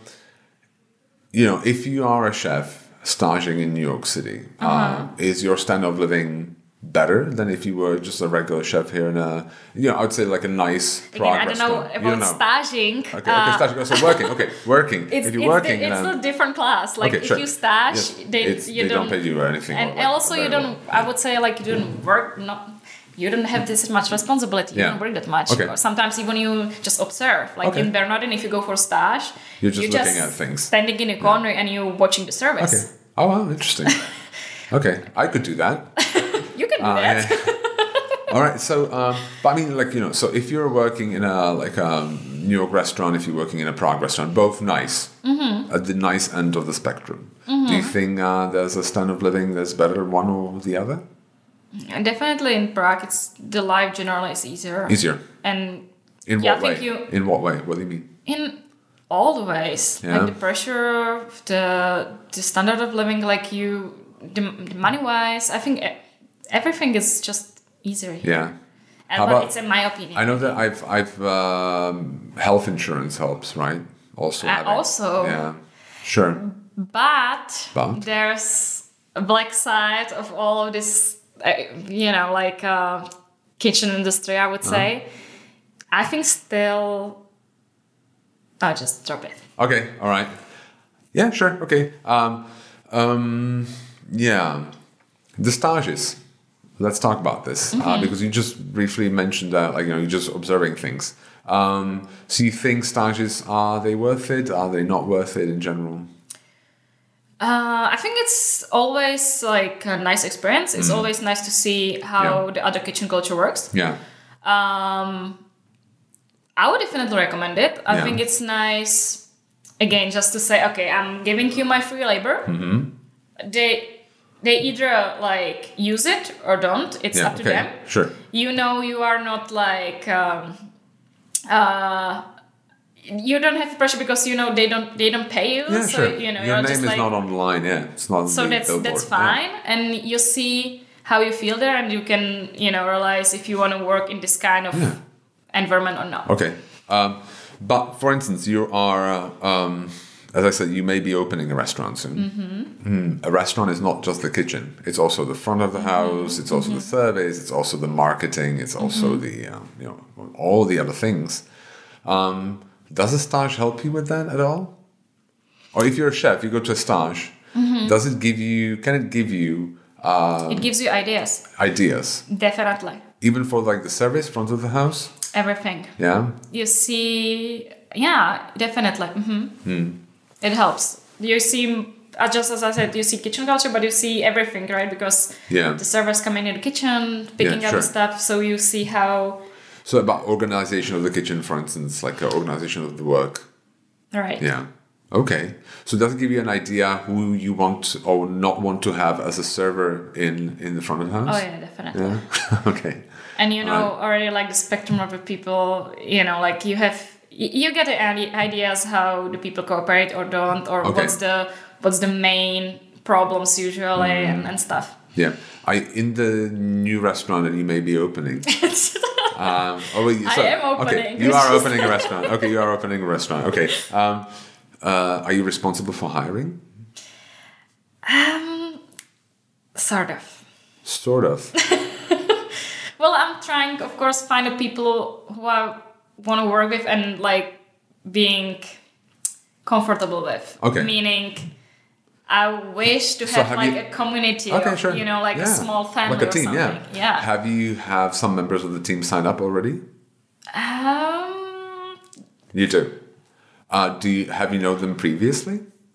you know, if you are a chef staging in New York City, uh-huh. uh, is your standard of living better than if you were just a regular chef here in a, you know, I would say like a nice Prague Again, I don't know restaurant. about know. staging. Okay, okay, uh, staging. So working, okay, working. It's, if you're it's working, the, it's um, a different class. Like okay, if sure. you stage, yes, they you they don't, don't pay you or anything. And or like also you don't. I would say like you don't work. Not you don't have this much responsibility. You yeah. don't work that much. Okay. Or sometimes even you just observe. Like okay. in Bernardin, if you go for stage, you're just you're looking just at things, standing in a corner yeah. and you're watching the service. Okay. Oh, wow, interesting. Okay, I could do that. You can do uh, that. Yeah. All right, so, um, but I mean, like, you know, so if you're working in a, like a New York restaurant, if you're working in a Prague restaurant, both nice, mm-hmm. at the nice end of the spectrum, mm-hmm. do you think uh, there's a standard of living that's better one or the other? And definitely in Prague, it's the life generally is easier. Easier? And in yeah, what I way? think you, in what way? What do you mean? In all the ways. Yeah. Like the pressure, the the standard of living, like you, the, the money-wise, I think everything is just easier here. Yeah. And How but about, it's in my opinion. I know that I've I've um, health insurance helps, right? Also. Uh, having, also. Yeah. Sure. But, but there's a black side of all of this, uh, you know, like uh, kitchen industry, I would say. Uh-huh. I think still. I'll just drop it. Okay. All right. Yeah. Sure. Okay. Um. Um. Yeah. The stages. Let's talk about this mm-hmm. uh, because you just briefly mentioned that, like, you know, you're just observing things. Um, so you think stages, are they worth it? Are they not worth it in general? Uh, I think it's always like a nice experience. It's mm. always nice to see how yeah. the other kitchen culture works. Yeah. Um, I would definitely recommend it. I yeah. think it's nice, again, just to say, okay, I'm giving you my free labor. Mm-hmm. They... They either like use it or don't. It's yeah, up to okay. them. Sure. You know, you are not like um, uh, you don't have pressure because you know they don't they don't pay you. Yeah, so sure. you know your you're name just is like, not on the line. Yeah, it's not. On so the that's billboard. that's fine, yeah. and you see how you feel there, and you can you know realize if you want to work in this kind of yeah. environment or not. Okay, um, but for instance, you are. Uh, um, As I said, you may be opening a restaurant soon. Mm-hmm. Mm. A restaurant is not just the kitchen. It's also the front of the house. It's also mm-hmm. the service. It's also the marketing. It's also mm-hmm. the, um, you know, all the other things. Um, does a stage help you with that at all? Or if you're a chef, you go to a stage, mm-hmm. does it give you, can it give you... Um, it gives you ideas. Ideas. Definitely. Even for like the service, front of the house? Everything. Yeah? You see... Yeah, definitely. Mm-hmm. Mm. It helps. You see, just as I said, you see kitchen culture, but you see everything, right? Because yeah. the servers come in in the kitchen, picking yeah, up sure. the stuff, so you see how... So about organization of the kitchen, for instance, like uh, organization of the work. Right. Yeah. Okay. So does it give you an idea who you want or not want to have as a server in, in the front of the house? Oh, yeah, definitely. Yeah. Okay. And you know right. already like the spectrum of the people, you know, like you have... You get ideas how the people cooperate or don't, or okay. what's the what's the main problems usually mm. and, and stuff. Yeah, I in the new restaurant that you may be opening. um, oh, wait, so, I am opening. Okay, you are opening a restaurant. Okay, you are opening a restaurant. Okay, um, uh, are you responsible for hiring? Um, sort of. Sort of. Well, I'm trying, of course, find the people who are. Want to work with and like being comfortable with. Okay. Meaning, I wish to have, so have like you, a community okay, of, sure. you know, like yeah. a small family like a or team, something. Yeah. yeah. Have you have some members of the team sign up already? Um. You do. Uh, do you have you known them previously?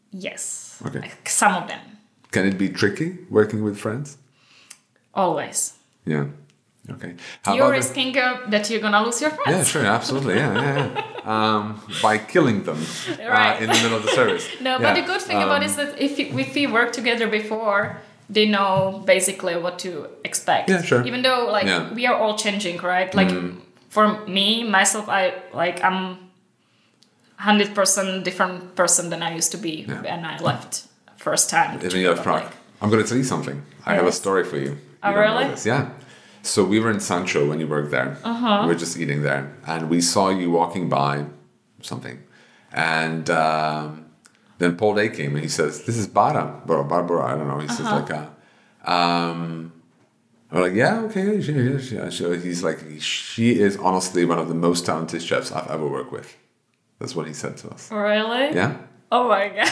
Yes. Okay. Like some of them. Can it be tricky working with friends? Always. Yeah. Okay. How You're about the- risking uh, that you're gonna lose your friends. Yeah, sure, absolutely. Yeah, yeah, yeah. Um, by killing them Right. uh, in the middle of the service. No, Yeah. but the good thing um, about it is that if, you, if we work together before, they know basically what to expect. Yeah, sure. Even though like Yeah. we are all changing, right? Like for me, myself, I like I'm one hundred percent different person than I used to be Yeah. when I left first time. Even to you have Prague. Republic. I'm going to tell you something. I have a Yes. story for you. Oh, You don't know really? this. Yeah. So we were in Sancho when you worked there. Uh-huh. We were just eating there. And we saw you walking by something. And um, then Paul Day came and he says, this is Bara. Barbara, Barbara, I don't know. He says Uh-huh. like, uh, um, we're like, yeah, okay. She, she, she, she. He's like, she is honestly one of the most talented chefs I've ever worked with. That's what he said to us. Really? Yeah. Oh my god.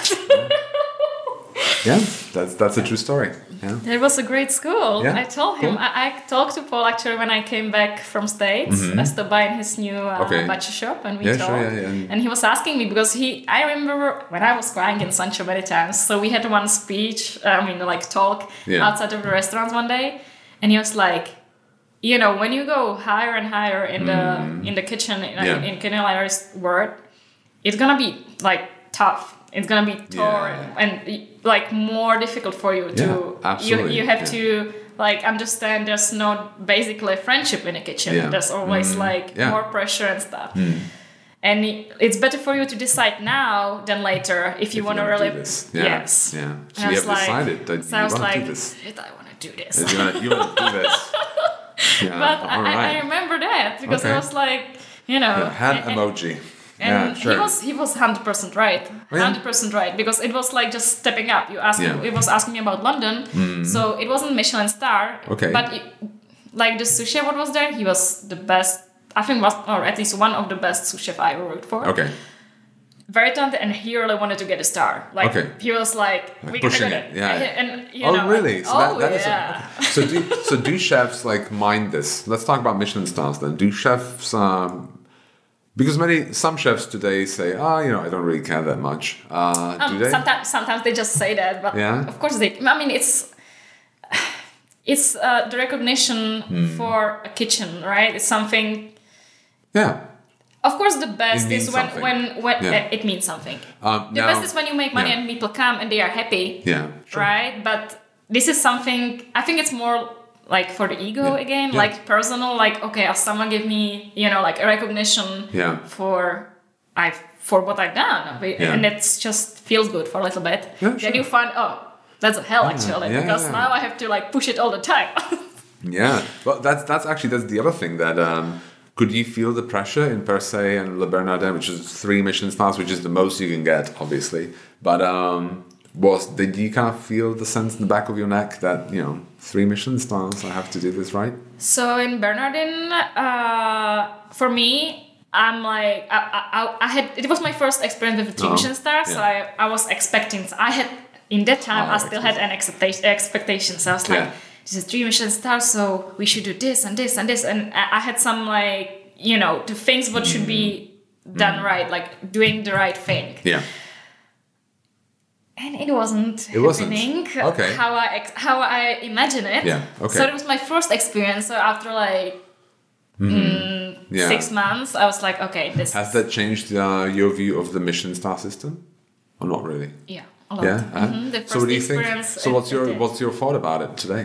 Yeah. That's, that's a true story. Yeah. It was a great school. Yeah, I told him. cool. I, I talked to Paul actually when I came back from States. I stopped by in his new uh, Okay. butcher shop and we Yeah, talked. sure, yeah, yeah. And- And he was asking me because he. I remember when I was crying in Sancho many times. So we had one speech. I mean, like talk Yeah. outside of the restaurant one day, and he was like, you know, when you go higher and higher in the in the kitchen in, Yeah. in culinary world, it's gonna be like tough. It's gonna be tough Yeah. and like more difficult for you to. Yeah, absolutely. You you have Yeah. to like understand. There's no basically friendship in a kitchen. Yeah. There's always like Yeah. more pressure and stuff. And it- it's better for you to decide now than later if you If want to you wanna really. do this. Yeah. Yes. Yeah. And So I you was have like- decided that so you I was want to like, do this. shit, I want to do this. You want to, you want to do this. Yeah. But I, all I, I right. remember that because Okay. I was like, you know, Yeah, hand and- and- emoji. And yeah, sure. he was he was hundred percent right, yeah? hundred percent right because it was like just stepping up. You asked, Yeah. it was asking me about London, so it wasn't Michelin star. Okay. But it, like the sous chef what was there, he was the best. I think was or at least one of the best sous chef I ever worked for. Okay. Very talented, and he really wanted to get a star. Like Okay. he was like, we pushing gotta it, get yeah. And you Oh, know, really? like, So oh that, that is yeah. a, so do so do chefs like mind this? Let's talk about Michelin stars then. Do chefs um, because many some chefs today say, ah, you know, I don't really care that much. Uh, Um, do they? Sometimes, sometimes they just say that, but Yeah. of course they. I mean, it's it's uh, the recognition Hmm. for a kitchen, right? It's something. Yeah. Of course, the best It means is when something. when when Yeah. uh, it means something. Um, The now- best is when you make money yeah. and people come and they are happy, Yeah. Sure. right? But this is something. I think it's more like for the ego Yeah. again, Yeah. like personal. Like okay, if someone give me, you know, like a recognition Yeah. for I for what I've done, Yeah. and it's just feels good for a little bit. Yeah, Then sure. you find oh, that's a hell actually yeah, because yeah. now I have to like push it all the time. Yeah, well, that's that's actually that's the other thing that um, could you feel the pressure in Per Se and Le Bernardin, which is three Michelin stars, which is the most you can get, obviously. But um, was did you kind of feel the sense in the back of your neck that you know three Michelin stars, I have to do this right? So in Bernardin, uh, for me, I'm like I, I, I had it was my first experience with a three Oh, Michelin star, so yeah. I, I was expecting. I had in that time Oh, I still had an expectation. Expectations. I was like, Yeah. this is three Michelin stars, so we should do this and this and this, and I, I had some like you know the things what should be done right, like doing the right thing. Yeah. And it wasn't It wasn't. happening Okay. how I ex- how I imagine it. Yeah, okay. So it was my first experience. So after like Yeah. six months, I was like, okay, this. Has that changed uh, your view of the Michelin star system, or not really? yeah, a lot. Yeah. uh Mhm, the So first what do you think? experience So it- what's it your did. what's your thought about it today?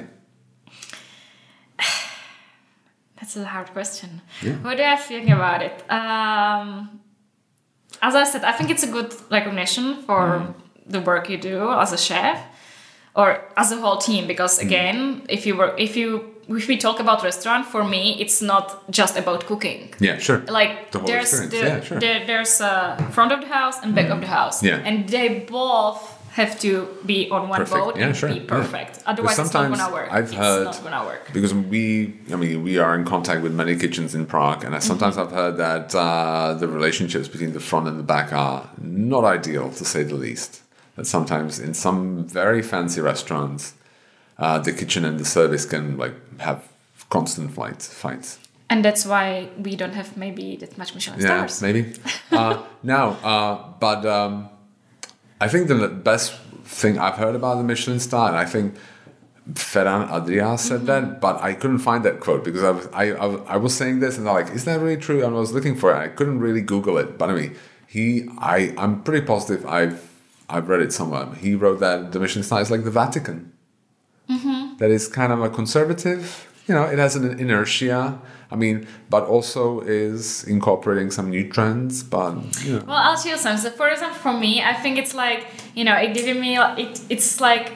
That's a hard question. Yeah. What do I think about it? Um, as I said, I think it's a good recognition for Mm. the work you do as a chef or as a whole team. Because Mm. again, if you were, if you, if we talk about restaurant, for me, it's not just about cooking. Yeah, sure. Like The whole there's the, experience. Yeah, sure. there, there's a front of the house and back of the house, Yeah. and they both have to be on one Perfect. boat Yeah, and sure. be Yeah. perfect. Otherwise, it's not sometimes gonna work. I've it's heard- not gonna work. Because we, I mean, we are in contact with many kitchens in Prague, and I, sometimes Mm-hmm. I've heard that uh, the relationships between the front and the back are not ideal, to say the least. That sometimes in some very fancy restaurants, uh, the kitchen and the service can like have constant fights. Fights. And that's why we don't have maybe that much Michelin Yeah, stars. maybe. uh, now, uh, but um, I think the best thing I've heard about the Michelin star, and I think Ferran Adrià said mm-hmm. that, but I couldn't find that quote because I was I, I, I was saying this and they're like, is that really true? And I was looking for it. I couldn't really Google it, but I mean, he I I'm pretty positive I've I've read it somewhere. He wrote that the Michelin star is like the Vatican. Mm-hmm. That is kind of a conservative. You know, it has an inertia. I mean, but also is incorporating some new trends. But you know. Well, I'll tell you something. So for example, for me, I think it's like you know, it giving me it. It's like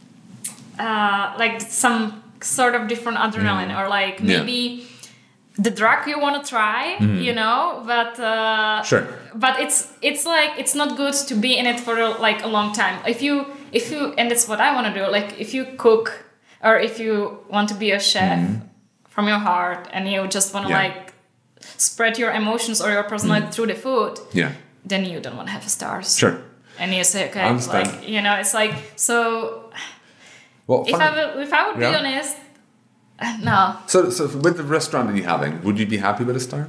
uh, like some sort of different adrenaline, mm. or like maybe yeah. the drug you want to try. Mm. You know, but uh, sure. But it's it's like it's not good to be in it for like a long time. If you if you and that's what I want to do. Like if you cook. Or if you want to be a chef mm-hmm. from your heart and you just want to yeah. like spread your emotions or your personality mm. through the food, yeah. then you don't want to have stars. Sure. And you say, okay, like you know, it's like so. Well, if I would, if I would yeah. be honest, no. So, so with the restaurant that you're having, would you be happy with a star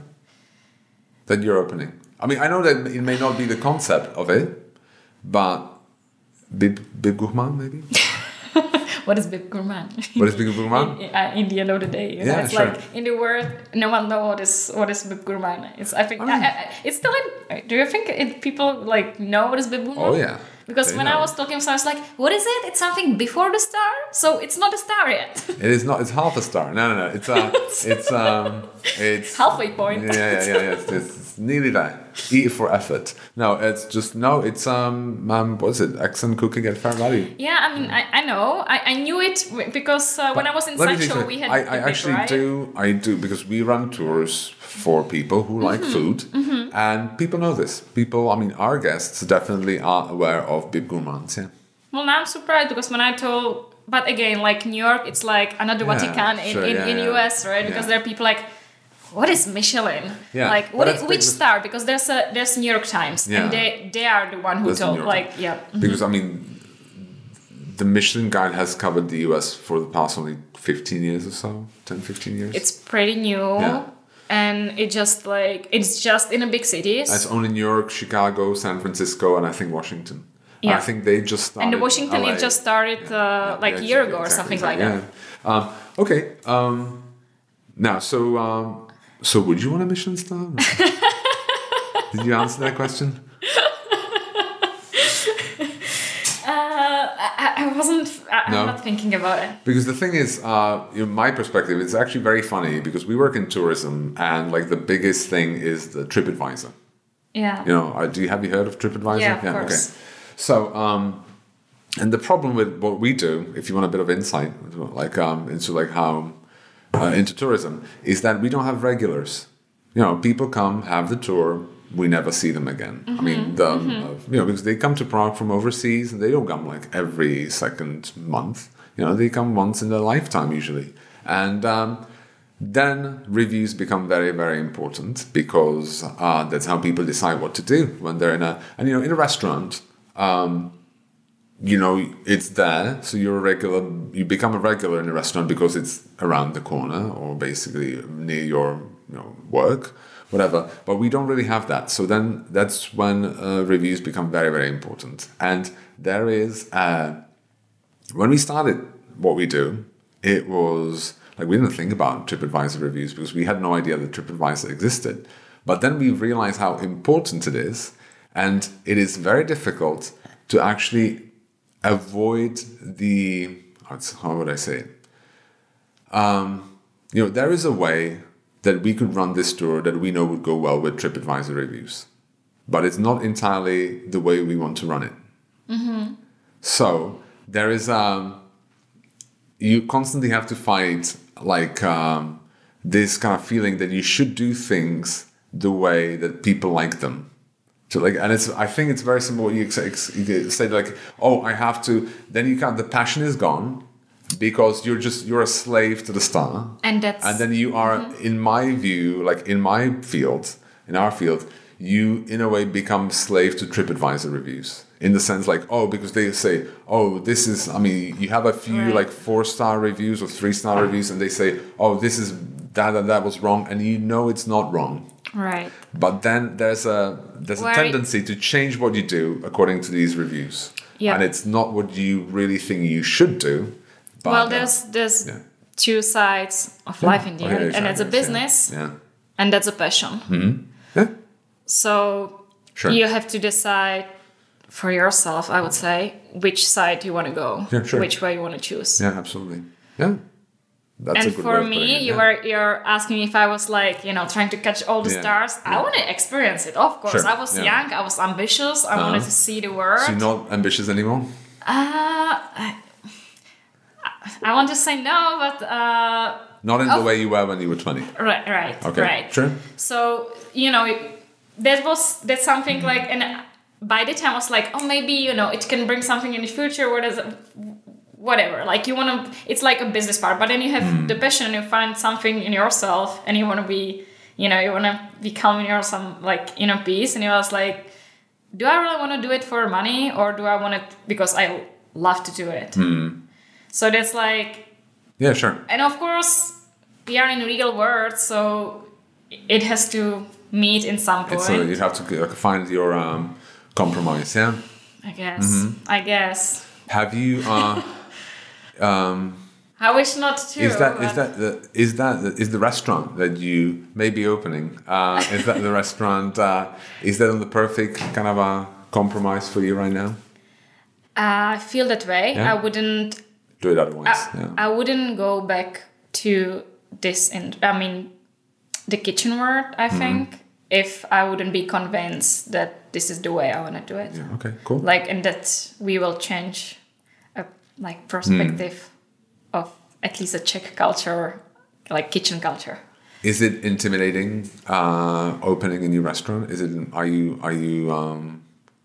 that you're opening? I mean, I know that it may not be the concept of it, but Bib Bib Gourmand maybe. What is Bib Gourmand? What is Bib Gourmand? in, uh, in the end of the day, you know? Yeah, it's sure. like in the word, no one knows what is what is Bib Gourmand. It's I think I mean, I, I, it's still in. Do you think it, people like know what is Bib Gourmand? Oh yeah. Because they when know. I was talking, so I was like, "What is it? It's something before the star, so it's not a star yet." It is not. It's half a star. No, no, no. It's uh, it's um, it's halfway point. Yeah, yeah, yeah. yeah. It's, it's nearly there. E for effort. No, it's just no. It's um, um what is it? Excellent cooking at fair value. Yeah, I mean, I, I know. I, I knew it because uh, when I was in Sancho, we had. I, I actually right? do. I do because we run tours for people who like mm-hmm. food, mm-hmm. and people know this. People, I mean, our guests definitely are aware of Bib Gourmand. Yeah. Well, now I'm surprised because when I told, but again, like New York, it's like another yeah, Vatican in sure, in, yeah, in yeah. U S, right? Because yeah. there are people like, what is Michelin? Yeah. Like, what is, which star? Because there's a there's New York Times, yeah. and they they are the one who there's told, like, yeah. Mm-hmm. Because I mean, the Michelin Guide has covered the U S for the past only fifteen years or so, ten, fifteen years. It's pretty new. Yeah. And it just like it's just in the big cities. It's only New York, Chicago, San Francisco, and I think Washington. Yeah. I think they just started. And the Washington, L A. It just started uh, yeah. like yeah, a year exactly, ago or something exactly, like yeah. that. Um, okay. Um, now, so um, so would you want a Michelin star? Did you answer that question? I wasn't. I, no. I'm not thinking about it. Because the thing is, uh, in my perspective, it's actually very funny because we work in tourism, and like the biggest thing is the TripAdvisor. Yeah. You know, uh, do you have you heard of TripAdvisor? Yeah, of yeah, course. Okay. So, um, and the problem with what we do, if you want a bit of insight, like um, into like how uh, into tourism, is that we don't have regulars. You know, people come, have the tour. We never see them again. Mm-hmm, I mean, the, mm-hmm. uh, you know, because they come to Prague from overseas, and they don't come like every second month. You know, they come once in their lifetime usually, and um, then reviews become very, very important because uh, that's how people decide what to do when they're in a and you know in a restaurant. Um, you know, it's there, so you're a regular. You become a regular in a restaurant because it's around the corner or basically near your you know work. Whatever, but we don't really have that. So then that's when uh, reviews become very, very important. And there is, uh, when we started what we do, it was like we didn't think about TripAdvisor reviews because we had no idea that TripAdvisor existed. But then we realized how important it is. And it is very difficult to actually avoid the, how would I say it? Um, you know, there is a way that we could run this tour that we know would go well with TripAdvisor reviews. But it's not entirely the way we want to run it. Mm-hmm. So there is um, you constantly have to fight like um, this kind of feeling that you should do things the way that people like them. So like, and it's I think it's very simple. You say, you say like, oh, I have to. Then you can't. The passion is gone. Because you're just you're a slave to the star, and that's and then you are, mm-hmm. in my view, like in my field, in our field, you in a way become slave to TripAdvisor reviews. In the sense, like oh, because they say, oh, this is. I mean, you have a few right. like four star reviews or three star reviews, and they say, oh, this is that and that was wrong, and you know it's not wrong. Right. But then there's a there's Where a tendency to change what you do according to these reviews. Yeah. And it's not what you really think you should do. But well, uh, there's there's yeah. two sides of life in the Okay, end, there's and it's a others, yeah. business, Yeah. and that's a passion. Mm-hmm. Yeah. So Sure. you have to decide for yourself, I would say, which side you want to go, Yeah, sure. which way you want to choose. Yeah, absolutely. Yeah. That's and a good for way of putting me, it, you yeah. were you're asking me if I was like, you know, trying to catch all the Yeah. stars. I Yeah. want to experience it, of course. Sure. I was Yeah. young, I was ambitious, I wanted to see the world. So you're not ambitious anymore? Uh, I, I want to say no, but uh, Not in of- the way you were when you were twenty. right, right, Okay. right. Sure. So you know, that was that's something like, and by the time I was like, oh, maybe you know, it can bring something in the future. What is it? Whatever. Like you want to, it's like a business part, but then you have Mm. the passion, and you find something in yourself, and you want to be, you know, you want to become in your some like inner peace, and you was like, do I really want to do it for money, or do I want it because I love to do it? Mm. So that's like, Yeah, sure. and of course, we are in the real world, so it has to meet in some point. It's a, you have to uh, find your um, compromise, yeah? I guess. Mm-hmm. I guess. Have you... Uh, um, I wish not to. Is that is but- that the is that the, is the restaurant that you may be opening? Uh, is that the restaurant? Uh, is that the perfect kind of a compromise for you right now? I feel that way. Yeah? I wouldn't. Do it otherwise. I, yeah. I wouldn't go back to this. In I mean, the kitchen world. I Mm-hmm. think if I wouldn't be convinced that this is the way I want to do it. yeah. Okay. Cool. Like, and that we will change a like perspective of at least a Czech culture, like kitchen culture. Is it intimidating uh, opening a new restaurant? Is it? Are you? Are you? Um,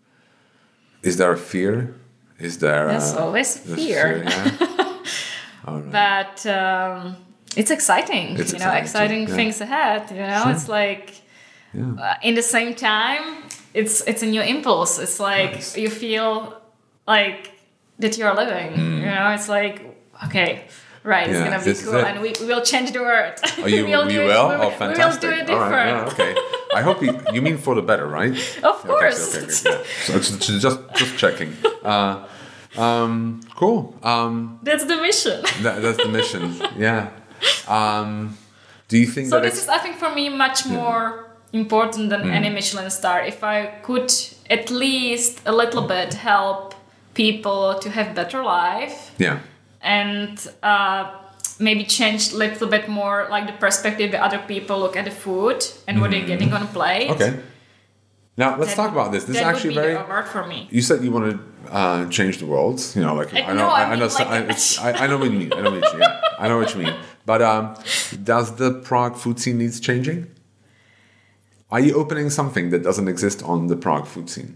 is there a fear? Is there? There's uh, always there's fear. yeah? All right. But um, it's exciting, It's you know, exciting exciting too, yeah. things ahead. You know, Sure. it's like Yeah. uh, in the same time, it's it's a new impulse. It's like Nice. you feel like that you're living. You know, it's like okay, right, it's Mm. Yeah, gonna be this is cool, it. and we, we will change the world. Oh, you, we'll you do will? It, we, Oh, we fantastic. will do it All right, different. yeah, okay. I hope you, you mean for the better, right? Of Okay, course. so- okay, good, yeah. So it's it's just just checking. Uh, um, cool. Um, That's the mission. that, that's the mission. Yeah. Um, do you think So that this it's, is, I think, for me, much more important than Mm. any Michelin star. If I could at least a little bit help people to have better life yeah? and uh, maybe change a little bit more like the perspective that other people look at the food and what they're getting on a plate. Mm. Okay. Now let's that- talk about this. This is that actually would be very. the award for me. You said you want to uh, change the world. You know, like I- I know, no, I I, I mean, know, like- I, it's, I, I know what you mean. I know what you mean. Yeah, I know what you mean. But um, does the Prague food scene needs changing? Are you opening something that doesn't exist on the Prague food scene?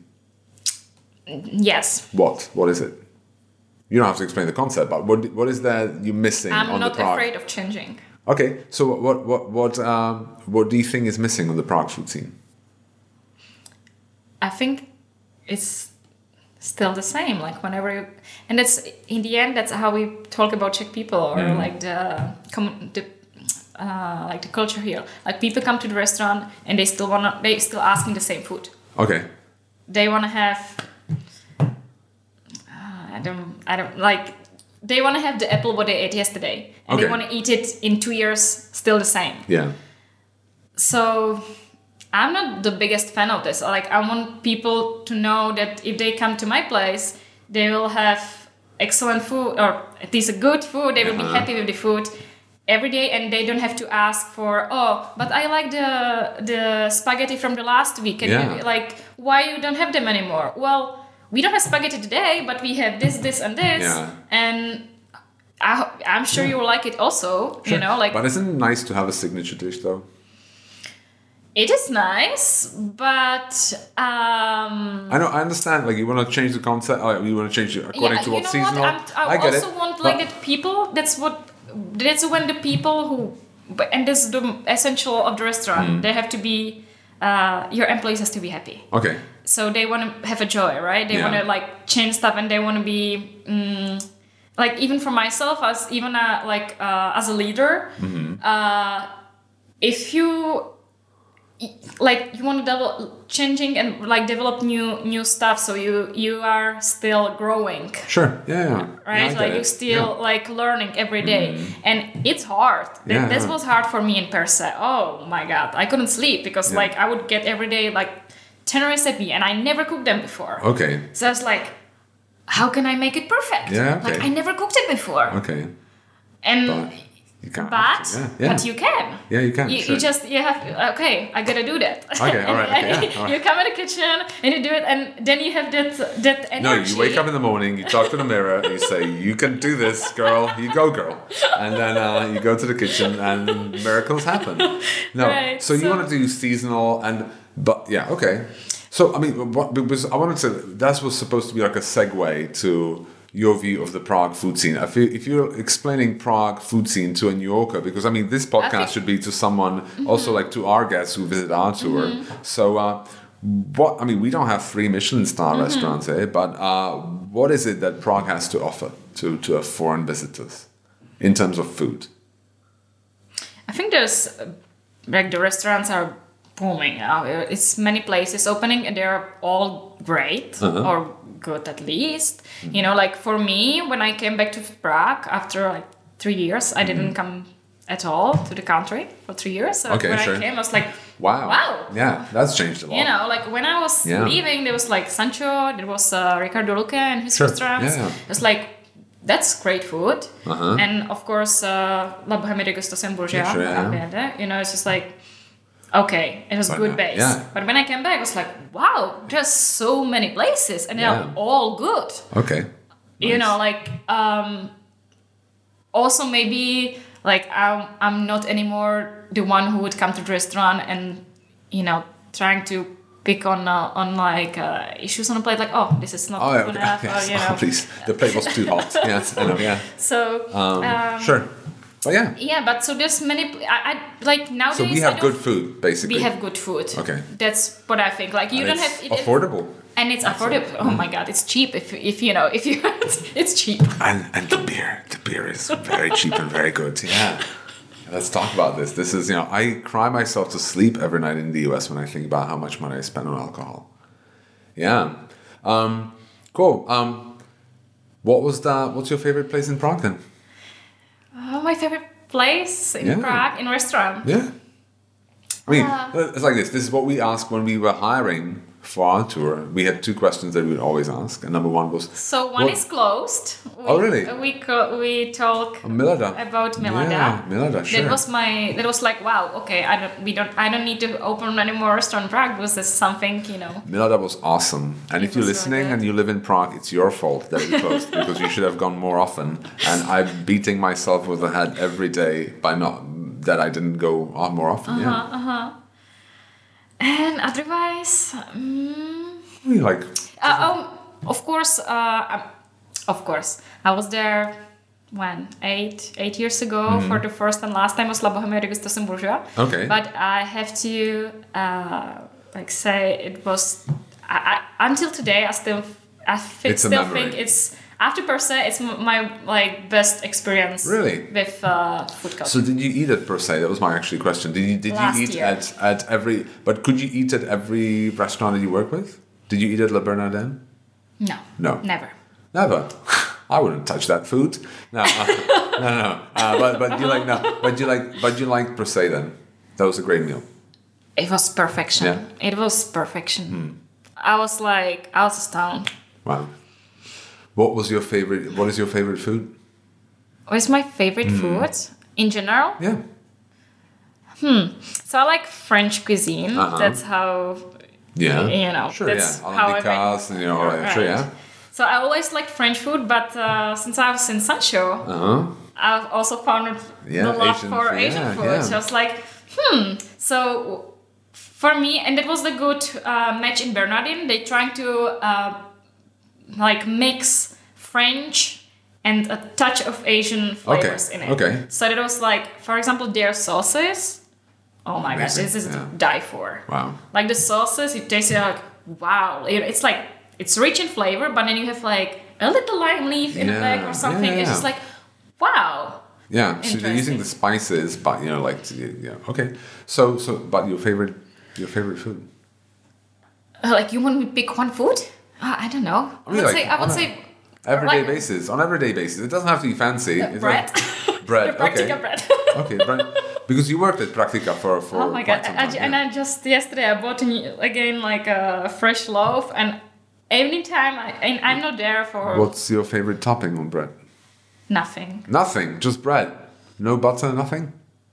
Yes. What? What is it? You don't have to explain the concept, but what what is that you're missing I'm on not the Prague? afraid of changing. Okay, so what what what um, what do you think is missing on the Prague food scene? I think it's still the same. Like whenever you, and that's in the end, that's how we talk about Czech people or Mm. like the com- the uh, like the culture here. Like people come to the restaurant and they still wanna they still asking the same food. Okay, They wanna have. Uh, I don't. I don't like. They wanna have the apple what they ate yesterday, and Okay. they wanna eat it in two years still the same. yeah, So I'm not the biggest fan of this. Like I want people to know that if they come to my place, they will have excellent food or at least a good food. They will Uh-huh. be happy with the food every day, and they don't have to ask for oh, but I like the the spaghetti from the last week. And Yeah. you, like why you don't have them anymore? Well, we don't have spaghetti today, but we have this, this, and this, Yeah. and. I, I'm sure you will like it also, you know, like but isn't it nice to have a signature dish though? it is nice, but um, I know, I understand. Like you want to change the concept, or you want to change it according to you what know seasonal. what? I'm, I, I get also it. want but- like that people. That's what. That's when the people who, but- and this is the essential of the restaurant. Mm. They have to be. Uh, your employees has to be happy. Okay. So they want to have a joy, right? They Yeah. want to like change stuff, and they want to be. Um, like even for myself, as even a, like uh, as a leader, Mm-hmm. uh, if you like you want to develop changing and like develop new new stuff, so you you are still growing. Sure. Yeah. yeah. Right. Yeah, like it. you still yeah. like learning every day, mm. and it's hard. Yeah, this yeah. was hard for me in Perse. Oh my god, I couldn't sleep because yeah. like I would get every day like ten recipe, and I never cooked them before. Okay. So I was like, how can I make it perfect? Yeah. Okay. Like I never cooked it before. Okay. And. But- You can't. But Yeah, yeah. but you can. Yeah, you can. You, sure. you just you have okay. I gotta do that. Okay, all right. Okay, yeah, all right. You come in the kitchen and you do it, and then you have that that energy. No, you wake up in the morning, you talk to the mirror, and you say, "You can do this, girl. You go, girl." And then uh, you go to the kitchen, and miracles happen. No, Right, so you so- want to do seasonal, and but yeah, okay. So I mean, what, because I wanted to. That was supposed to be like a segue to your view of the Prague food scene. If, you, if you're explaining Prague food scene to a New Yorker, because I mean, this podcast think- should be to someone, mm-hmm. also like to our guests who visit our tour. Mm-hmm. So, uh, what I mean, we don't have three Michelin star mm-hmm. restaurants here, but uh, what is it that Prague has to offer to, to foreign visitors in terms of food? I think there's uh, like the restaurants are booming. Uh, it's many places opening, and they're all great Uh-huh. or good at least. You know, like for me, when I came back to Prague after like three years, I didn't come at all to the country for three years. So Okay, when sure. I came, I was like, Wow. wow. Yeah, that's changed a lot. You know, like when I was Yeah. leaving, there was like Sancho, there was uh, Ricardo Luque and his Sure. restaurants. Yeah, yeah. It was like, that's great food. Uh-huh. And of course, uh, La Bohème de Gustave Bourgeois, Yeah, sure, yeah. you know, it's just like, okay, it was But, good uh, base. yeah. But when I came back, I was like, wow, there's so many places and they're Yeah. all good. Okay. You Nice. know, like, um, also maybe like I'm, I'm not anymore the one who would come to the restaurant and, you know, trying to pick on uh, on like uh, issues on a plate, like, oh, this is not Oh, yeah, good okay. enough, Yes. or, you know. Oh, please. The plate was too hot. Yes, I know, yeah. So, Um, um, sure. But yeah. yeah, but so there's many, I, I like nowadays. So we I have don't- good food, basically. We have good food. Okay. That's what I think. Like you And don't it's have it, affordable. and it's affordable. Oh my god, it's cheap. If if you know, if you, it's cheap. And and the beer, the beer is very cheap and very good. Yeah. Let's talk about this. This is, you know, I cry myself to sleep every night in the U S when I think about how much money I spend on alcohol. Yeah. Um, cool. Um, what was that? What's your favorite place in Prague then? Oh, my favorite place in Yeah. Prague in restaurant. Yeah. I mean, Uh, it's like this. This is what we asked when we were hiring for our tour. We had two questions that we would always ask. And number one was... So one what- is closed. We, Oh, really? We co- we talk Oh, Milada. about Milada. Yeah, Milada, sure. That was my. That was like, wow. Okay, I don't. We don't. I don't need to open any more restaurant in Prague because there's something, you know. Milada was awesome. And It if you're was listening really and good. you live in Prague, it's your fault that we closed because you should have gone more often. And I'm beating myself with the head every day by not that I didn't go on more often. Uh-huh, Yeah. uh-huh. And otherwise, mm, What do you like? uh, oh, of course, uh, um, of course, I was there when eight eight years ago for the first and last time was La Bohème de Gustave Bourgeois. Mm-hmm. Okay. But I have to uh, like say it was I, I, until today I still I fi- It's a still memory. think it's after per se it's m- my like best experience Really? with uh, food culture. So did you eat at per se? That was my actually question. Did you did Last you eat year. at, at every? But could you eat at every restaurant that you work with? Did you eat at La Bernardin? no, No. never. Never. I wouldn't touch that food. No, uh, no, no. Uh, but but you like no. But you like but you like per se then. That was a great meal. It was perfection. Yeah. It was perfection. I was like, I was astounded. Wow. What was your favorite? What is your favorite food? What's my favorite food in general? Yeah. So I like French cuisine. Uh-huh. That's how, Yeah. you know, Sure. that's Yeah. how I Alain Ducasse, and you know, all right. Sure. Right. Yeah. So I always liked French food, but uh, since I was in Sancho, Uh huh. I've also found Yeah, the love Asian for food, Asian yeah, food. yeah. So I was like, hmm. So for me, and that was the good uh, match in Bernardin. They trying to uh, like mix French and a touch of Asian flavors Okay, in it. okay. So that was like, for example, their sauces. Oh my gosh, Amazing, this is yeah. to die for. Wow. Like the sauces, you taste it like, wow. It- It's like, it's rich in flavor, but then you have like a little lime leaf in the Yeah, back or something. yeah, It's yeah. just like, wow. Yeah. So you're using Interesting. the spices, but you know, like yeah. Okay. So so, but your favorite Your favorite food? Uh, like you want me to pick one food? Uh, I don't know. I, I would like, say. I would say. Everyday like, basis. On everyday basis. It doesn't have to be fancy. Uh, bread. Like bread. Practica okay. bread. Okay, bread. Because you worked at Practica for for. Oh my quite god! some I, time, and yeah. I just yesterday I bought a new, again like a fresh loaf, and anytime I and I'm not there for. What's your favorite topping on bread? Nothing. Nothing. Just bread. No butter. Nothing.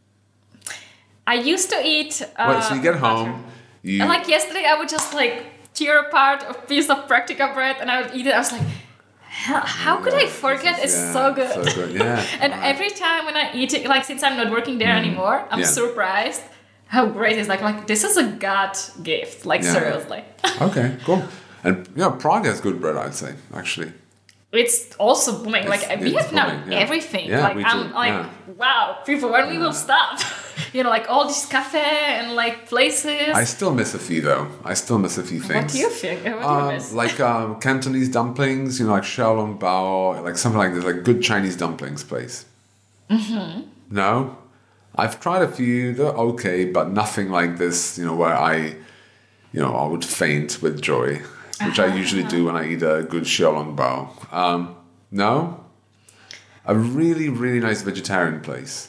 I used to eat. Uh, Wait, so you get home. butter. You. And like yesterday, I would just like tear apart a piece of Practica bread, and I would eat it. I was like, how, how could I forget? It's yeah, so good. So good. Yeah. And right. every time when I eat it, like since I'm not working there mm. anymore, I'm yeah. surprised how great it is. Like like this is a God gift. Like yeah. seriously. Okay, cool. And yeah, Prague has good bread, I'd say, actually. It's also booming. It's, like we have now booming, yeah. everything. Yeah, like we I'm do. like, yeah. wow, people, when we yeah. will stop? You know, like all these cafe and like places. I still miss a few though. I still miss a few things. What do you think? What do um, you miss? Like um, Cantonese dumplings, you know, like xiaolong bao, like something like this, like good Chinese dumplings place. Mm-hmm. No? I've tried a few, they're okay, but nothing like this, you know, where I, you know, I would faint with joy, which uh-huh. I usually do when I eat a good xiaolong bao. Um, no? A really, really nice vegetarian place.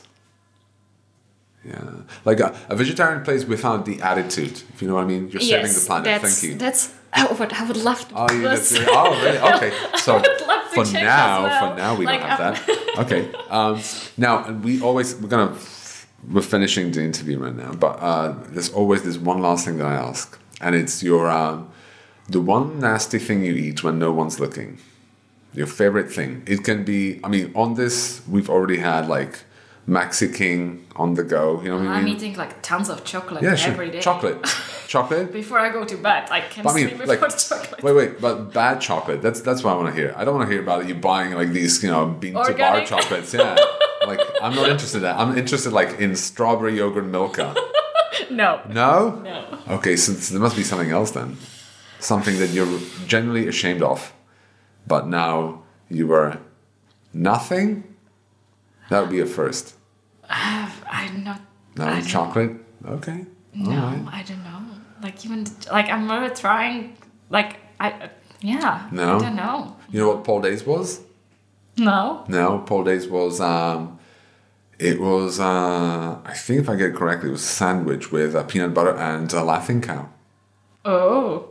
Yeah, like a, a vegetarian place without the attitude, if you know what I mean. You're yes, saving the planet. That's, Thank you. That's I would, I would love to. Oh, you did. Oh, really? Okay. So for now, well. for now we like, don't have um, that. Okay. Um, now we always we're gonna we're finishing the interview right now, but uh, there's always this one last thing that I ask, and it's your um, the one nasty thing you eat when no one's looking. Your favorite thing. It can be. I mean, on this we've already had like. Maxi King on the go, you know what I mean? I'm eating like tons of chocolate yeah, sure. every day. Chocolate. Chocolate? Before I go to bed, I can't I mean, sleep without like, chocolate. Wait, wait, but bad chocolate. That's that's what I want to hear. I don't want to hear about you buying like these, you know, bean to bar chocolates. Yeah. Like, I'm not interested in that. I'm interested like in strawberry yogurt Milka. No. No? No. Okay, so, so there must be something else then. Something that you're genuinely ashamed of. But now you were nothing? That would be a first. Uh, I'm not. No, I chocolate? Okay. No, right. I don't know. Like, even, like, I'm really trying, like, I, uh, yeah. No? I don't know. You know what Paul Days was? No. No, Paul Days was, um, it was, uh, I think if I get it correctly, it was a sandwich with uh, peanut butter and a laughing cow. Oh.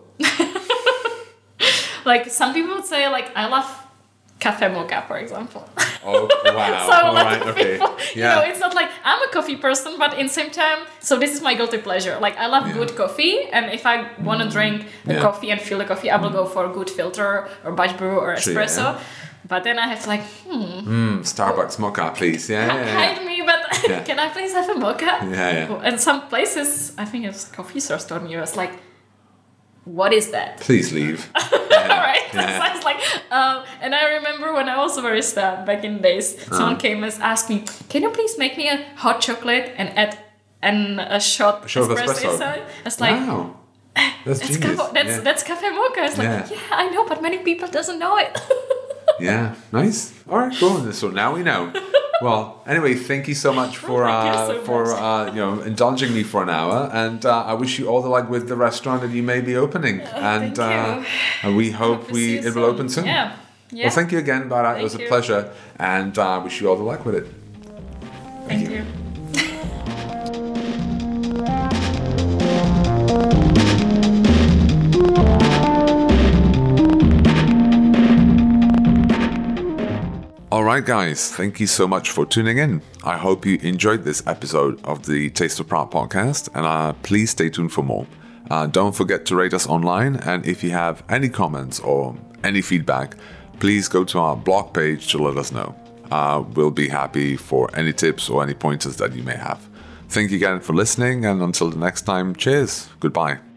Like, some people would say, like, I love cafe mocha, for example. Oh, wow. So all right, okay. People, yeah. You know, it's not like I'm a coffee person, but in the same time, so this is my guilty pleasure. Like, I love yeah. good coffee, and if I want to drink the yeah. coffee and feel the coffee, I will go for a good filter or batch brew or espresso. Sure, yeah. But then I have to like, hmm. Mm, Starbucks mocha, please. Yeah, yeah, yeah. Hide me, but yeah. Can I please have a mocha? Yeah, yeah. And some places, I think it's coffee stores told me, it was like, what is that? Please leave. Yeah. All right. Yeah. So I was like, um, and I remember when I was a barista back in the days, uh-huh. someone came and asked me, "Can you please make me a hot chocolate and add and a shot, a shot of espresso?" espresso? It's like, wow, that's that's genius. Cafe, that's yeah. that's cafe mocha. It's like, yeah. yeah, I know, but many people doesn't know it. Yeah, nice. All right, cool. So now we know. Well, anyway, thank you so much for uh, so for much. Uh, you know indulging me for an hour, and uh, I wish you all the luck with the restaurant that you may be opening, uh, and thank uh, you. we hope, hope we it soon. will open soon. Yeah. yeah. Well, thank you again, Bara. Thank it was you. a pleasure, and I uh, wish you all the luck with it. Thank, thank you. you. Alright guys, thank you so much for tuning in. I hope you enjoyed this episode of the Taste of Prague podcast, and uh, please stay tuned for more. Uh, don't forget to rate us online, and if you have any comments or any feedback, please go to our blog page to let us know. Uh, we'll be happy for any tips or any pointers that you may have. Thank you again for listening, and until the next time, cheers, goodbye.